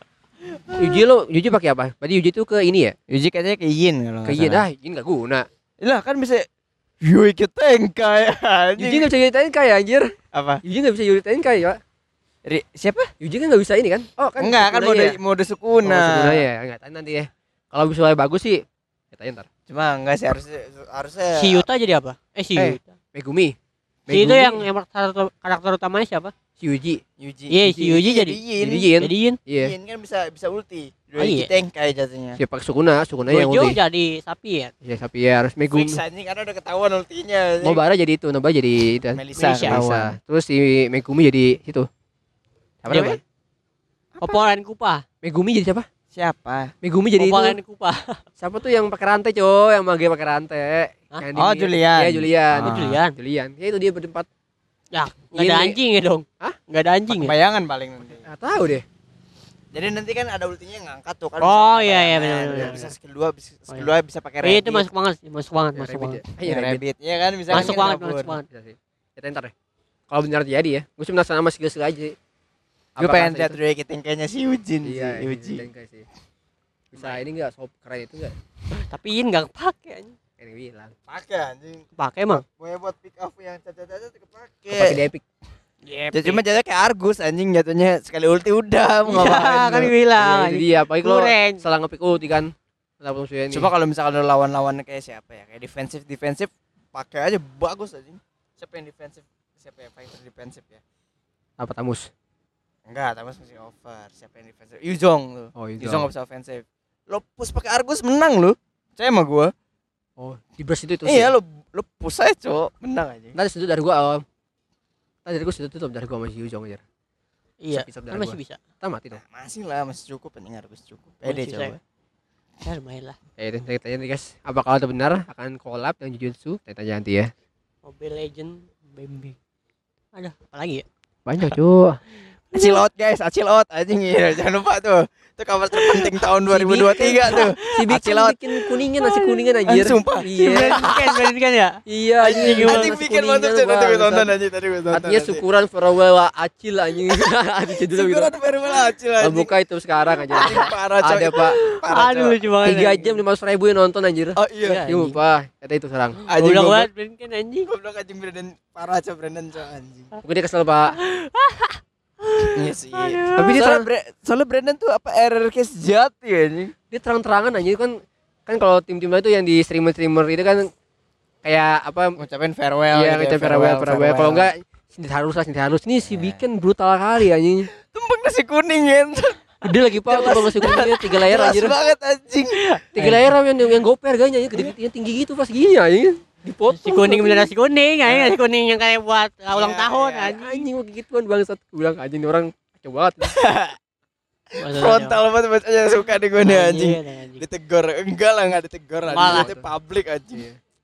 Yuji pakai apa? Berarti Yuji itu ke ini ya? Yuji katanya ke Yin kalau Ke Yin dah, Yin enggak guna. Lah kan bisa Yui Tenkai anjing. Yuji enggak bisa ceritain kayak anjir. Apa? Yuji enggak bisa ceritain kayak, Pak. Siapa? Yuji kan enggak bisa ini kan? Oh, kan Enggak, kan Sukuna mode ya? mode Oh, Sukuna. Sukuna ya, enggak tahu nanti ya. Kalau visualnya bagus sih, kita ntar. Cuma enggak sih harusnya Si Yuta jadi apa? Si Eh. Yuta. Megumi. Si itu yang karakter utamanya siapa? si Yuji. Yuji. Iya, si Yuji jadi Yin. Jadi Yin. Jadi Yin. Iya. Yin kan bisa ulti. Oh, iya. Yui Tenkai jatuhnya. Siapa Sukuna yang Gojo ulti. jadi sapi ya. Ya, tapi ya harus Megumi. Fix anjing karena udah ketahuan ultinya. anjing. Nobara jadi itu, Nobara jadi itu. Melisa Melisa. ketahuan. Terus si Megumi jadi itu. Siapa Dia namanya? Popolan Kupa. Megumi jadi siapa? Siapa? Megumi jadi itu. Popolan Kupa. Siapa tuh yang pakai rantai, Cok? Yang mage pakai rantai. Hah? Yang Oh, Julian. Iya, Julian. Oh, Julian. Julian. Ya itu dia berempat. Ya, enggak ada Ini- anjing ya dong. Hah? Enggak ada anjing ya? Bayangan paling nanti. Enggak tahu deh. Jadi nanti kan ada ultinya yang ngangkat tuh kan. Oh, bisa iya, pakai iya, bayangan. benar-benar. Bisa skill 2, Oh, iya. bisa pakai Iya, itu rabbit. masuk banget, masuk banget, Ya, masuk Rabbit banget. ya. Iya, Rabbit. Rabbit. Iya kan bisa Masuk kan banget, kabur. masuk banget. Bisa sih. Kita ntar deh. Kalau benar jadi ya. Gue cuma penasaran sama skill aja sih. Gue Apa pengen rasa lihat itu? Ryuki Tenkainya si Yujin Iya, sih, Yuji. Tenkai sih. Bisa ini enggak sob keren itu enggak? Tapi Yin enggak kepake anjing. Kayak yang bilang. Pakai anjing. Kepake emang. Gue buat pick up yang cacat-cacat kepake. Pakai di Epic. Ya, cuma jatuhnya kayak Argus anjing jatuhnya sekali ulti udah mau Iya, ngapain kan lu. bilang. Iya, jadi apalagi kalau Kurang. salah ngepick ulti kan. Kenapa musuhnya ini? Coba kalau misalkan lu lawan-lawan kayak siapa ya? Kayak defensif pakai aja bagus anjing. Siapa yang defensif? Siapa ya fighter defensif ya? apa Tamus? Enggak, Tamas masih over. Siapa yang defensif? Yuzong lu. Oh, Yuzong enggak bisa ofensif. Lo push pakai Argus menang lu. Percaya sama gua. Oh, di burst itu Iya, lu push aja, Cok. Menang aja. Nanti situ dari gua awam. Tadi dari gua situ tutup dari gua masih Yuzong aja. Iya, Bisa kan dari masih gua. bisa. Tamat itu. Masih lah, masih cukup penting Argus cukup. Pede Masih coba. Ya lumayan lah. Itu tanya nih guys. Apa kalau itu benar akan collab yang Jujutsu? Tanya nanti ya. Mobile Legend Bambi. Ada apa lagi ya? Banyak cuy. Acil out guys, acil out anjing ya. Jangan lupa tuh. Itu kabar terpenting tahun 2023 tuh. Si bikin Acil out. bikin kuningan nasi kuningan anjir. Sumpah. Iya. Berarti kan ya? Iya anjing. Anjing bikin mantap tadi gue tonton anjing tadi gue tonton. Artinya syukuran farewell Acil anjing. Ada judul gitu. Syukuran farewell acil Kalau anjing. buka itu sekarang aja. Anjing parah coy. Ada Pak. Parah Aduh coy. lucu banget. 3 jam 500.000 yang nonton anjir. Oh iya. Iya. Sumpah, kata itu sekarang. Anjing Goblok goblok. banget Brandon kan anjing. Goblok anjing Brandon parah coy Brandon coy anjing. Mungkin dia kesel Pak. Iya sih. Tapi dia Soalnya Brandon tuh apa RRQ sejati anjing. dia terang-terangan anjir kan kalau tim-tim lain itu yang di streamer itu kan kayak apa Ngucapin farewell. iya gitu ya, ngecap farewell kalau enggak sini harus ini si Iya. bikin brutal kali anjing. tumpeng nasi kuning ya. Gede lagi Pak tuh masih kuningnya 3 layer Keras anjir. banget anjing. 3 layer yang goper harganya gede tinggi gitu pas gini anjing. Dipotong. Si kuning bener nasi kuning, anjing nasi kuning yang kayak buat ulang Iya, tahun iya. anjing. Anjing kayak gituan bangsat. Gue bilang anjing ini orang kacau banget. Frontal banget bacanya suka nih gue nih anjing. Anjing. Ditegur enggak lah enggak ditegur Malah. anjing. Itu publik anjing.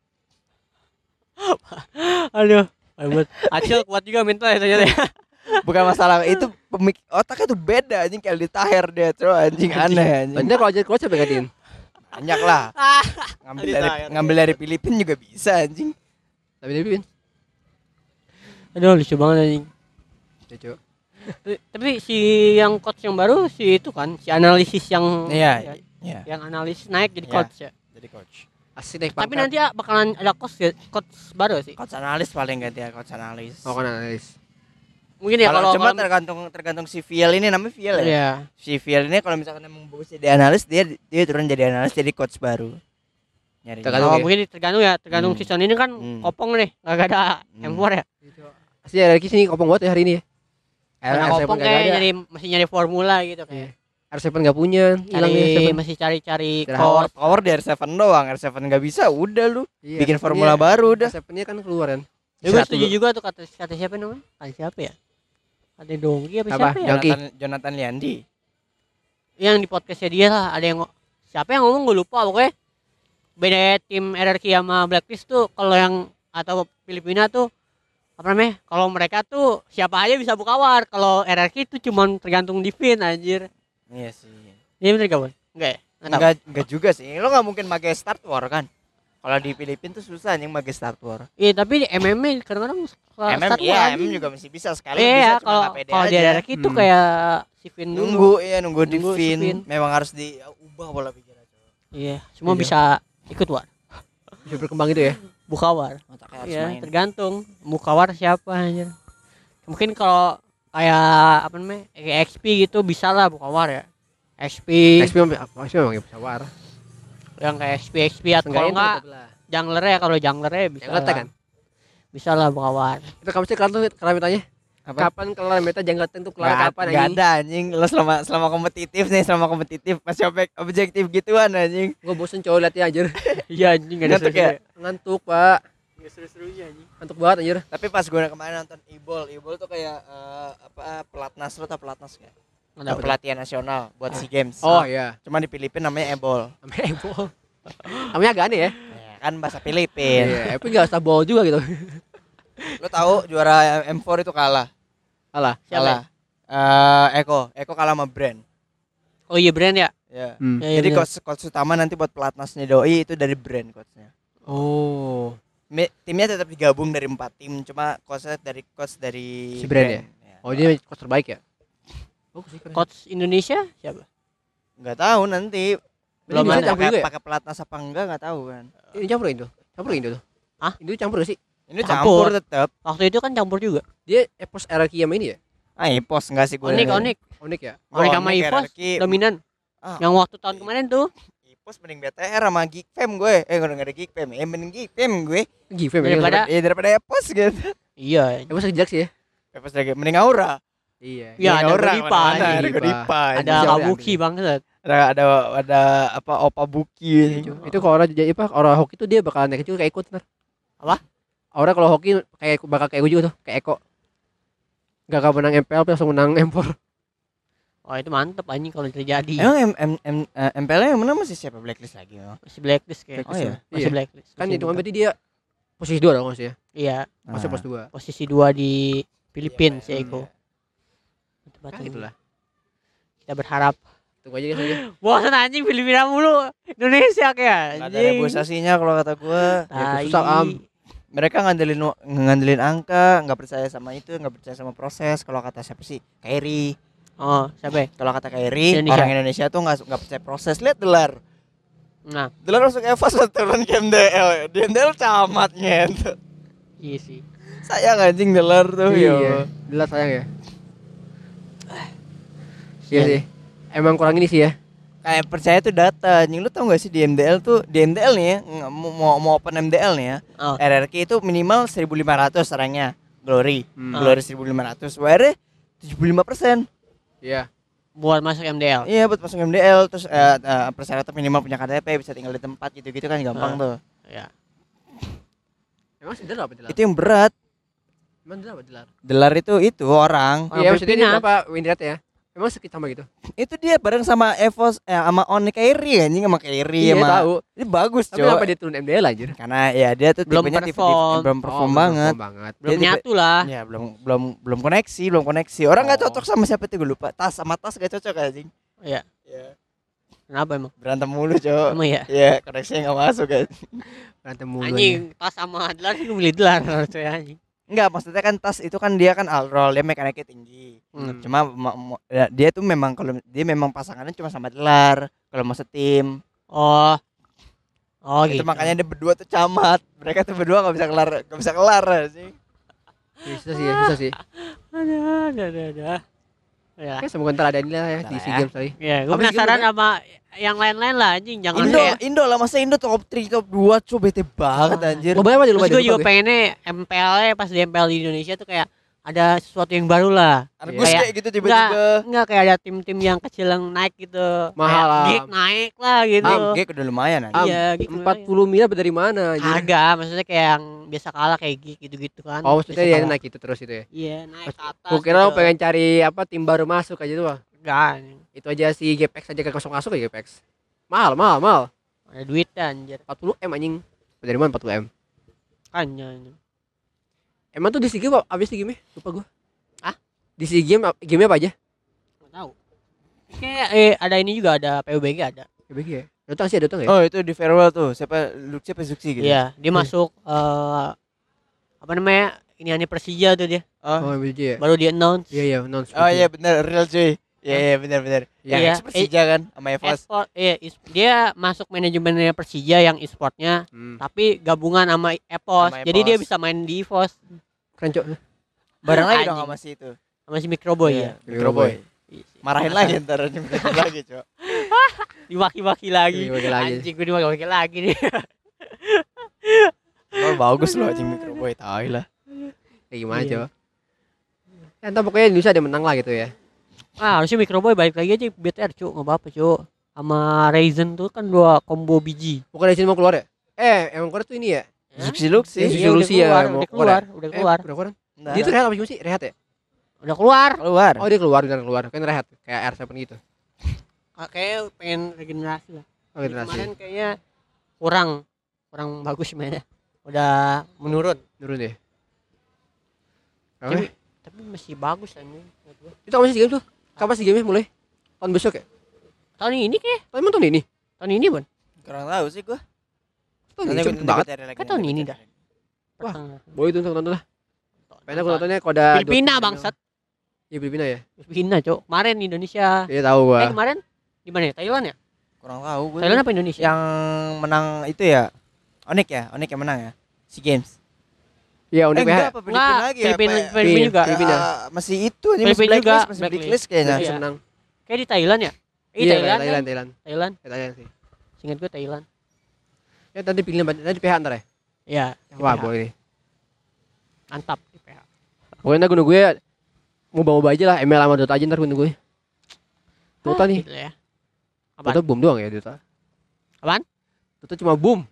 Aduh. Aduh. Acil kuat juga mental ya ternyata. Bukan masalah itu otaknya tuh beda anjing kayak ditaher dia tuh anjing aneh anjing. Banyak kalau jadi coach apa gantiin? Banyak lah. Ditaher. Ngambil dari Filipina juga bisa anjing. Tapi dia pin. Aduh lucu banget anjing. Ya, Cuk. Tapi si yang coach yang baru si itu kan si analisis yang Iya, iya. yang analisis naik jadi Iya. coach ya. Jadi coach. Asik naik Tapi pangkat. nanti ya bakalan ada coach baru sih. Coach analis paling ganti ya, coach analis. Oh kan analis. Mungkin ya kalau Cuma tergantung si Viel ini, namanya Viel ya. Iya. Si Viel ini kalau misalkan emang bagus jadi analis, dia turun jadi analis, jadi coach baru. Nyari. Tergantung ya. Mungkin tergantung Hmm. season ini kan kopong nih, enggak ada M4 ya. Asli ada lagi sini kopong banget ya hari ini ya. Karena R7 kopong nggak kayak ada. masih nyari formula gitu Iya. kayak. R7 nggak punya, hilang nih R7. Masih cari-cari Power, course. power di R7 doang, R7 nggak bisa, udah lu Iya, bikin R7-nya formula baru udah. R7-nya kan keluar kan. Gue setuju juga tuh kata siapa namanya? Kata siapa ya? Kata Dongki apa Apa? siapa ya? Dongki. Jonathan Liandi. Yang di podcastnya dia lah ada yang siapa yang ngomong gue lupa pokoknya beda tim RRQ sama Blacklist tuh kalau yang atau Filipina tuh apa namanya kalau mereka tuh siapa aja bisa buka war kalau RRQ itu cuman tergantung di Vin anjir. Iya sih. Ini bener gak Bon? Enggak ya? Nggak tahu. Enggak juga sih. Lo nggak mungkin pakai start war kan? Kalau di Filipina tuh susah anjing pakai start war. Iya tapi di MMA kadang-kadang start war Iya, anjing. juga masih bisa sekali Iya bisa cuma kalau nggak pede kalau di aja. RRQ itu kayak si Vin dulu. Nunggu di Nunggu si Vin. Vin. Memang harus diubah pola pikiran. Iya, semua Iya. bisa ikut war. Bisa berkembang gitu ya. Buka war. Otaknya harus Iya, main. tergantung buka war siapa anjir. Mungkin kalau kayak apa namanya? Kayak XP gitu bisa lah buka war ya. XP XP memang ya bisa war. yang kayak XP atau kalau enggak kalau junglernya bisa. Yang ngetek lah. kan. Bisa lah buka war. Itu kamu sih kalau mitanya Apa? kapan kelar meta jangan tentu kelar kapan Nggak anjing. ada anjing. Lo selama kompetitif masih objektif gituan anjing. Gua bosen cowok liatnya anjir. Iya anjing enggak ada Ngantuk ya? Ngantuk, Pak. Enggak seru-serunya anjing. Ngantuk banget anjir. Tapi pas gue kemarin nonton Ibol tuh kayak pelatnas, lo tau pelatnas kayak pelatihan nasional buat SEA Games. Oh iya. Cuma di Filipina namanya Ebol. Namanya Ebol. Namanya agak aneh ya. Ya, kan bahasa Filipin. Iya, tapi enggak usah bol juga gitu. Lo tahu juara M4 itu kalah. Alah. Kalah. Eko kalah sama Brand. Oh iya brand ya? Ya. Hmm. Iya, Jadi bener. coach utama nanti buat pelatnasnya Doi itu dari Brand coachnya. Oh. Timnya tetap digabung dari 4 tim, cuma coach dari Si Brand ya? Oh, dia coach terbaik ya? Oh, sih keren. Coach Indonesia siapa? Nggak tahu nanti Belum Belum ada ada. campur juga ya? pakai pelatnas apa enggak nggak tahu kan. Ini campur Indo. Campur Indo tuh. Hah? Indo campur gak sih? Ini Campur. campur tetap. Waktu itu kan campur juga. Dia Epos RRQ sama ini ya? Epos enggak sih gue. Onik Onik ya? Onik sama Onik, Ipos RRQ. dominan. Ah. Yang waktu tahun kemarin tuh. Ipos mending BTR sama Geekfam gue. Enggak ada Geekfam. Mending Geekfam gue. Give ya. Daripada- Daripada Epos gitu. Iya. Epos kejak sih ya? Epos lagi mending Aura. Iya. Ya, ada Aura, Godipa, mana-mana, anjing. ada Godipa. Ada Bisa Kabuki ambil. banget. Ada apa Opa Buki. Itu kalau orang jadi apa? Orang hoki tuh dia bakalan naik juga kayak ikut ntar. Apa? Orang kalau hoki kayak bakal kayak gue juga tuh, kayak Eko. Gak akan menang MPL tapi langsung menang M4. Oh itu mantep anjing kalau terjadi. Emang MPL yang mana masih siapa Blacklist lagi? Masih blacklist kayak. Oh iya. Masih Iya. blacklist. Kan Masih itu kan buka. berarti dia posisi 2 dong maksudnya. Iya, Masih Ah. pos 2. posisi 2 di Filipina si Iya, Eko. Kan itulah. Kita berharap. Tunggu aja guys aja. Bosan anjing Filipina mulu. Indonesia kayak Nggak ada reboisasinya kalau kata gue. Ya, susah, Am. Mereka ngandelin angka, nggak percaya sama itu, nggak percaya sama proses. Kalau kata siapa sih? Kairi. Oh, siapa ya? Kalau kata Kairi, Indonesia. orang Indonesia tuh nggak percaya proses. Lihat Delar. Nah, Delar masuk Evos turun ke MDL. Di MDL camatnya. iya sih. Sayang anjing Delar tuh Iya. Jelas sayang ya. Iya sih. Emang kurang ini sih ya. Kayak percaya tuh data. Anjing lu tau gak sih di MDL nih ya, mau open MDL nih ya. Oh. RRQ itu minimal 1.500 orangnya. Glory. Hmm. Glory 1.500. WR 75%. Iya. Buat masuk MDL. Iya buat masuk MDL. Terus persyaratan minimal punya KTP, bisa tinggal di tempat gitu-gitu kan gampang tuh. Ya. Emang sih Delar apa Delar? Itu yang berat. Emang Delar apa Delar? Delar itu orang. Iya maksudnya dia Filipina. apa win rate ya? Emang sekitar sama gitu? Itu dia bareng sama Evos sama Onik Kairi anjing sama Kairi Iya sama. tahu. Ini bagus, Tapi kenapa Cok. dia turun MDL anjir? Karena ya dia tuh Belum tipenya perform. belum perform Oh, banget. banget. Belum Dia tipe- nyatu lah. Ya belum koneksi. Orang nggak Oh. cocok sama siapa tuh gue lupa. Tas gak cocok anjing. Iya. Iya. Kenapa emang? Berantem mulu, Cok. Emang ya? Iya, koneksinya nggak masuk kan. Berantem mulu. Anjing, pas sama Adlar sih milih Adlar harusnya anjing. Enggak, maksudnya kan Tas itu kan dia kan all roll, dia mekaniknya tinggi. Hmm. Cuma ya, dia tuh memang kalau dia memang pasangannya cuma sama Delar kalau mau setim. Oh, Oh Itu gitu. makanya dia berdua tuh camat. Mereka tuh berdua nggak bisa kelar sih. Ya, susah sih. Ada. Ya. Ya semoga ntar ada ini lah ya Ntar di lah SEA ya. Games tadi. Ya, gue Habis penasaran gimana? sama yang lain-lain lah anjing, jangan Indo, kayak Indo lah, masa Indo top 3, top 2 coba bete banget anjir. Lo bayar aja terus lumayan. gue juga pengennya MPL pas di MPL di Indonesia tuh kayak ada sesuatu yang baru lah. Argus Kayak- kayak gitu tiba-tiba. Enggak kayak ada tim-tim yang kecil yang naik gitu. Mahal Kayak lah. Geek naik lah gitu. Gek udah lumayan anjir. Iya, Geek 40 miliar dari mana anjir? Agak, maksudnya kayak yang biasa kalah kayak Geek gitu-gitu kan. Oh, maksudnya Biasa dia kalah. naik itu terus itu ya. Iya, naik ke atas. Gue kira lo pengen cari apa tim baru masuk aja tuh. Bang. enggak. Itu aja si GPX aja kan kosong masuk ya GPX. Mahal. Ada duit anjir. 40 M anjing. Dari mana 40 M? Kan anjing. Emang tuh di SEA Games abis di game lupa gue. Ah? Di SEA Games game apa aja? Enggak tahu. Kayak ada ini juga, ada PUBG ada. GBG ya. Dota sih ada Dota nggak ya? Oh, itu di farewell tuh. Siapa Zuxi gitu. Iya, dia masuk apa namanya? Ini Persija tuh dia. Oh, GBG ya. Baru di announce. Iya announce. Oh iya benar, real cuy. Iya benar. Iya. Yang Persija kan sama EVOS. Esport, dia masuk manajemennya Persija yang e-sportnya, tapi gabungan sama EVOS. Sama Jadi dia EVOS. bisa main di EVOS Keren cok. Bareng lagi Anjing. dong sama si itu. sama si Microboy Iya, ya. Microboy. Iya sih. Marahin lagi ntar dimarahin lagi, Cok. Dimaki-maki lagi. Dimaki lagi. Anjing gue dimaki-maki lagi nih. Oh, bagus loh anjing Microboy, tai lah. Kayak gimana Iya. coba? Ya, entar pokoknya Indonesia ada menang lah gitu ya. Ah, harusnya Microboy balik lagi aja BTR, Cuk. Enggak apa-apa, Cuk. Sama Ryzen tuh kan dua combo biji. Bukan dari sini mau keluar ya? Emang keluar tuh ini ya? Zuxi Luxi. Iya, Iya, udah Lucy ya, keluar, mau udah keluar ya? keluar, udah keluar. Udah keluar. Nah, Dia tuh rehat apa sih? Rehat ya? Udah keluar. keluar. Oh, dia keluar, benar keluar. Kan rehat kayak R7 gitu. Kayak pengen regenerasi lah. Oh, generasi. Kemarin kayaknya kurang bagus mainnya. Udah menurun. Turun deh. Tapi, tapi masih bagus anjing. menurut gua. Itu kapan sih game tuh? Kapan sih game mulai? Tahun besok ya? Tahun ini kayak Emang tahun ini? tahun ini, Bon. Kurang tahu sih gua. Tahun ini cepet banget. Kan tahun ini dah. Wah. Pertengahan. Boleh itu nonton lah. Pengen aku nontonnya kalau ada Filipina 20 bangsat. Iya Filipina ya. Filipina, Cok. Kemarin Indonesia. Iya tahu gua. Kemarin di mana ya? Thailand ya? Kurang tahu gua. Thailand apa Indonesia? Yang menang itu ya Onik yang menang ya. SEA Games. Iya unik enggak, ya. apa Filipina lagi ya? Filipina juga. Filipina. Masih itu aja masih Filipina juga, blacklist, masih blacklist. blacklist kayaknya. Iya. Bisa menang. Kayak di Thailand ya? Iya Thailand. Thailand. Kan? Thailand. Sih. Seingat gue Thailand. Ya tadi pilih tadi PH ntar ya. Iya. Wah PH. boleh nih. Mantap di PH. Pokoknya ntar gue mau aja lah ML sama Dota aja ntar gue. Dota nih. Gitu ya. Apaan? Dota boom doang ya Dota. Apaan? Dota cuma boom.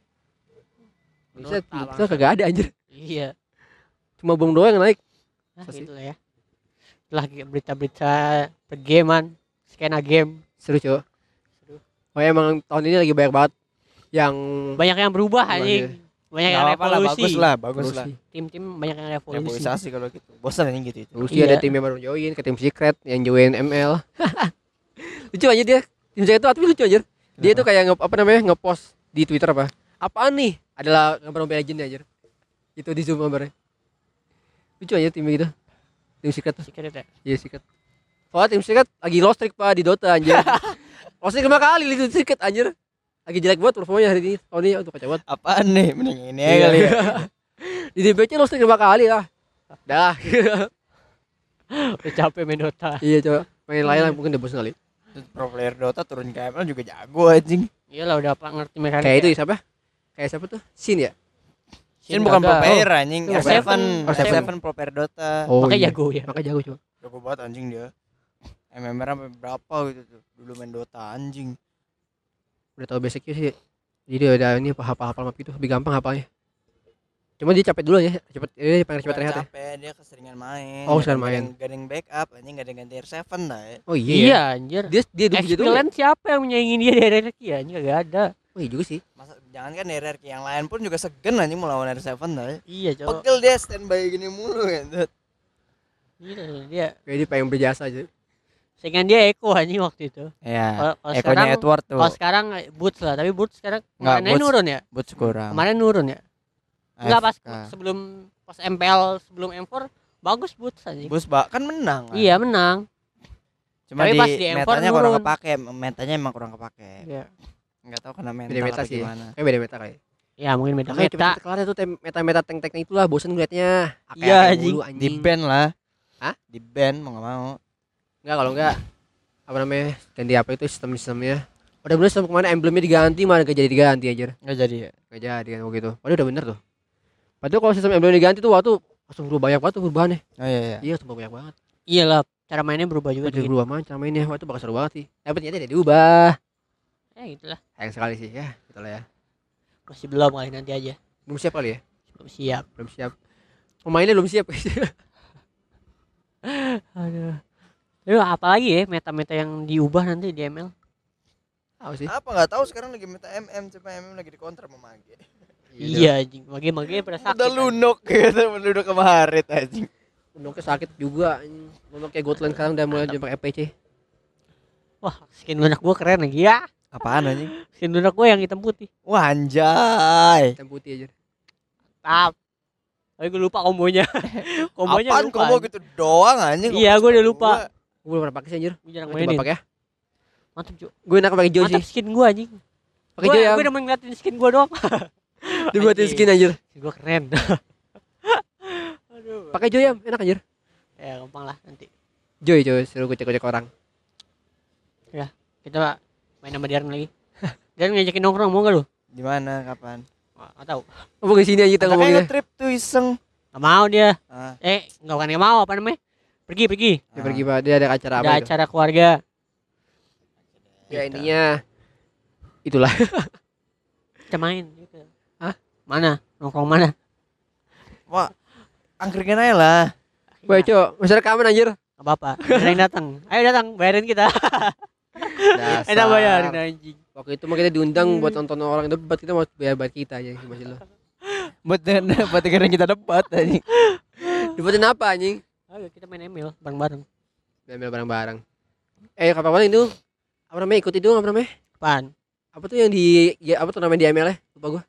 Bisa Dota, Dota kagak ada anjir. Iya. Cuma boom doang yang naik. Nah, Masa sih? gitu lah ya. Lagi berita-berita pergamean, skena game. Seru coba. Seru. Oh emang tahun ini lagi banyak banget yang Banyak yang berubah Berubah, anjing. Banyak yang Nggak apa-apa lah, revolusi. bagus lah. Tim-tim banyak yang revolusi. Reboisasi kalau gitu. Bosan anjing gitu itu. Rusia ada Iya. tim yang baru join ke tim Secret yang join ML. Lucu aja dia. Tim Secret itu tapi lucu aja. Dia tuh kayak nge-post di Twitter apa? Apaan nih? Adalah gambar Mobile Legends aja. Itu di zoom gambarnya. Lucu aja tim gitu. Tim Secret tuh. Secret ya. Iya Secret. Soalnya tim Secret lagi lost streak Pak di Dota anjir. Lost streak 5 kali itu Secret anjir. Lagi jelek banget performanya hari ini. Oh ini tuh kacau banget. Apaan nih? Mending ini Iya. aja kali ya. Di DPC lost streak 5 kali lah. Dah. Udah capek main Dota. Iya coba. Main lain lah mungkin udah bosan kali. Terus pro player Dota turun ke ML juga jago anjing. Iyalah udah apa ngerti mekanik. Kayak itu siapa? Kayak siapa tuh? Sin ya? Sin bukan pro player anjing. Oh, R7 R7. R7 pro player Dota. Makanya jago ya. Makanya jago coba. Jago banget anjing dia. MMR sampai berapa gitu tuh. Dulu main Dota anjing. Udah tahu basicnya sih. Jadi udah ini hafal map itu lebih gampang hafalnya. Cuma dia capek dulu ya. Dia pengen cepet rehat ya. Capek, dia keseringan main. Oh, keseringan main. Gak ada yang backup, anjing gak ada yang ganti R7 dah ya. Oh iya. Iya anjir. Dia dulu gitu. Kalian siapa yang menyaingi dia dari hierarki ya? Anjir gak ada. Oh iya juga sih. Masa jangan kan RRQ yang lain pun juga segen anjing mau lawan R7 dah ya. Iya, Cok. Pegel dia standby gini mulu kan. Gila dia. Kayak dia pengen berjasa aja. Saingan dia Eko anjing waktu itu. Iya. Kalau Ekonya sekarang Edward tuh. kalau sekarang Boots lah, tapi Boots sekarang Nggak, kemarin Boots. nurun ya. Boots kurang. Kemarin nurun ya. Enggak pas AFK. pas MPL sebelum M4 bagus Boots anjing. Boots kan menang. Kan? Iya, menang. Cuma Tapi di pas di M4 metanya kurang nurun. kepake, metanya emang kurang kepake. Iya. Enggak tahu kena mental Beda meta apa sih. gimana. Kayak beda meta kali. Ya mungkin beda Makanya meta. cepet kelar itu meta-meta tank-tanknya itulah bosen ngeliatnya. Iya, Kayak anjing. mulu, Di ban lah. Hah? Di ban mau enggak mau. Enggak kalau enggak apa namanya ganti apa itu sistemnya. Udah bener sistem kemana emblemnya diganti malah gak jadi diganti aja. Enggak jadi ya. Gak jadi kan begitu. Padahal udah bener tuh. Padahal kalau sistem emblem diganti tuh waktu langsung berubah banyak banget tuh perubahannya. Oh iya. Iya langsung banyak banget. Iyalah, cara mainnya berubah juga Udah dikit. berubah macam mainnya. Wah itu bakal seru banget sih. Tapi ternyata tidak diubah. Gitulah. Sayang sekali sih ya. Itulah ya. Masih belum kali, nanti aja. Belum siap kali ya. Belum siap. Belum siap. Pemainnya belum siap. Aduh. Aduh, apalagi ya meta-meta yang diubah nanti di ML? Tahu sih. Apa enggak tahu sekarang lagi meta MM, coba MM lagi dikontrak sama Mage. Iya anjing, mage-mage pada sakit. Udah lunok gitu, lunok sama Harit anjing. Unoknya sakit juga. Unok kayak Gotland sekarang udah mulai pakai FPC. Wah, skin lunak gua keren lagi ya. Apaan anjing? Skin lunak gua yang hitam putih. Wah anjay. Hitam putih aja. Tap. Tapi gua lupa kombonya. Kombonya Apaan lupa. combo gitu doang anjing? Iya, gua udah lupa. Gue belum pernah pakai sih anjir. Gua jarang Coba mainin. pakai ya. Mantap, Cuk. Gue enak pakai Joy Mantap sih. skin gua anjing. Pakai Joy ya. Gua udah ngeliatin skin gua doang. Dibuatin Anjing. skin anjir. Skin gua keren. Aduh. Pakai Joy ya, enak anjir. Ya, gampang lah nanti. Joy suruh gocek-gocek orang. Kita main sama Darren lagi. Darren ngajakin nongkrong mau enggak lu? Di mana kapan? Wah, enggak tahu. Ngomong ke sini aja kita Katanya ngomongin. nge-trip tuh iseng. Enggak mau dia. Ah, Enggak mau apa namanya? Pergi. Dia pergi Pak, dia ada acara Ada apa itu? acara keluarga. Ya intinya itulah. Kita main gitu. Hah? Mana? Nongkrong mana? Wah, angkringan aja lah. Woi, Cok, masih rekaman anjir. Enggak apa-apa. Ada yang datang. Ayo datang, bayarin kita. Enak bayarin anjing. Waktu itu mah kita diundang buat nonton orang debat, kita mau bayar buat kita aja masih lo. Buat dengerin kita debat anjing. Debatin apa anjing? Ayo kita main ML bareng-bareng. Ambil barang-barang. Kapan itu? Apa namanya? Ikut itu apa namanya? Apaan? Apa tuh yang di ya, apa tuh namanya di ML ya? Lupa gua.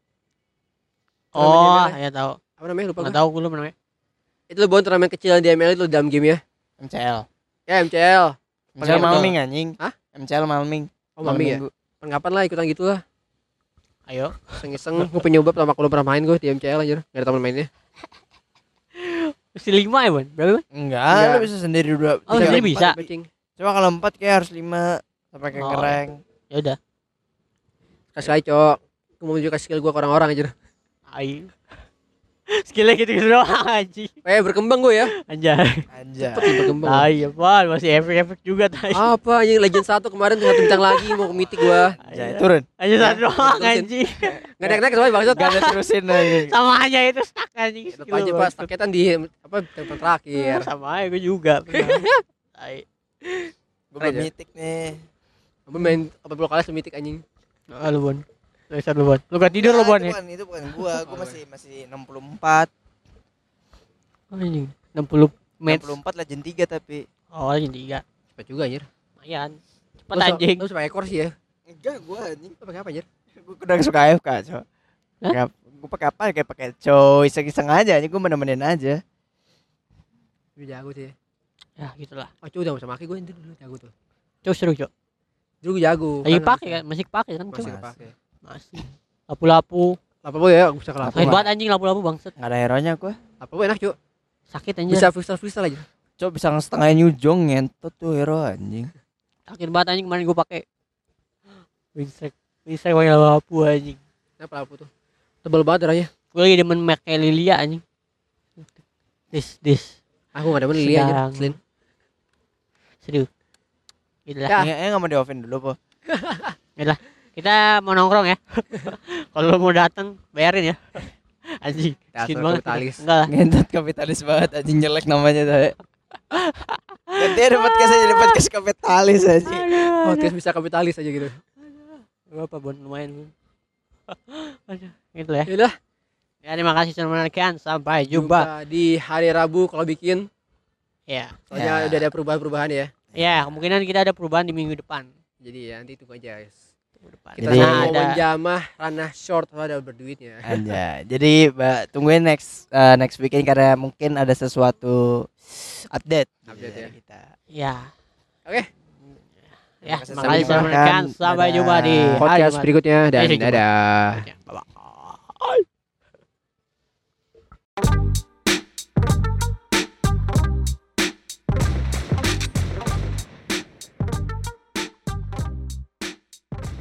Oh, ya tahu. Apa namanya? Lupa Enggak gua. tahu gue namanya. Itu lo turnamen kecil di ML itu dalam game ya. MCL. Ya MCL. MCL Betul. Malming anjing. Hah? MCL Malming. Oh, Mami ya. Minggu. Kapan lah ikutan gitu lah. Ayo. Iseng-iseng gue pengen nyoba pertama kali pernah main gue di MCL anjir. Enggak ada teman mainnya. Mesti 5 ya, Bon? Berapa? Enggak, Enggak. lu bisa sendiri dua. Oh, tiga, sendiri empat. bisa. Matching. Coba kalau 4 kayak harus 5 sampai ke Oh. kereng. Ya udah. Kasih aja, Cok. Gue mau menunjukkan skill gue ke orang-orang anjir. Ayo. Skillnya gitu-gitu doang anjing. Berkembang gue ya. Anjay. Anjay. Cepet nih berkembang. Tai apaan? Masih efek-efek juga tai. Apa anjing Legend 1 kemarin tinggal bintang lagi mau ke mythic gue. Anjay, turun. Aja satu doang terusin. anjing. Enggak naik-naik soalnya bangsat. Gak ada terusin anjing. Sama aja itu stuck anjing. Tetap aja pas paketan di apa telepon terakhir. Sama aja gue juga pernah. Tai. Gue belum Aja. mitik nih. Gue main 40 kali semythic anjing. Ah, lu Bon. Dasar lu Bon. Lu gak tidur lu Bon ya? Itu bukan gua masih 64. Oh, anjing. 60 match. 64 Legend 3 tapi. Oh, anjing 3. Cepet juga anjir. Lumayan. Cepet anjing. Lu pakai ekor sih ya. Enggak gua anjing. Lu pakai apa anjir? Gua udah suka AFK, Cok. Hah? Gua pakai apa? Kayak pakai coy, iseng-iseng aja anjing, gua menemenin aja. Lu jago sih. Ya, gitulah. Oh, Cok udah usah pakai gue dulu jago tuh. Cuk seru, Cuk. Dulu gue jago. Lagi pakai kan? Masih pakai kan, Cuk? Masih Masih. pakai. Masih. Lapu-lapu. Apa boy ya? Bisa ke lapo. Sakit banget anjing lapu-lapu bangset. Enggak ada hero-nya gua. Apa boy enak, Cok. Sakit anjing. Bisa freestyle aja. Cok bisa setengah nyujong ngentot tuh hero anjing. Sakit banget anjing kemarin gue pakai. Wingstrike pakai lapu anjing. Kenapa lapo tuh? Tebal banget darahnya. Gue lagi demen make Lilia anjing. This. Aku enggak demen Lilia anjir. Sedang. Selin. Serius. Gitu lah. Ya. Enggak mau di-offin dulu, Po. Kita mau nongkrong ya. Kalau lo mau datang bayarin ya. Anjing. Dasar Miskin banget. kapitalis. Enggak lah. Ngentot kapitalis banget anjing, jelek namanya tuh. Ganti ada podcast aja, jadi podcast kapitalis aja. Oh, terus bisa kapitalis aja gitu. Gak apa Bon, lumayan. Aduh, gitu ya. Yaudah, Ya terima kasih sudah menonton. Sampai jumpa. di hari Rabu kalau bikin. Ya. Soalnya Ya. udah ada perubahan-perubahan ya. Ya, kemungkinan kita ada perubahan di minggu depan. Jadi ya nanti tunggu aja guys. Minggu depan. Kita Jadi- mau ada menjamah ranah short ada berduitnya. Aja. Jadi tungguin next weekend karena mungkin ada sesuatu update Update ya. kita. ya. Oke. Ya, Sampai makasih jumpa. sudah mendengarkan. Sampai jumpa di hari podcast Jumat. berikutnya dan Jumat. dadah. Bye-bye.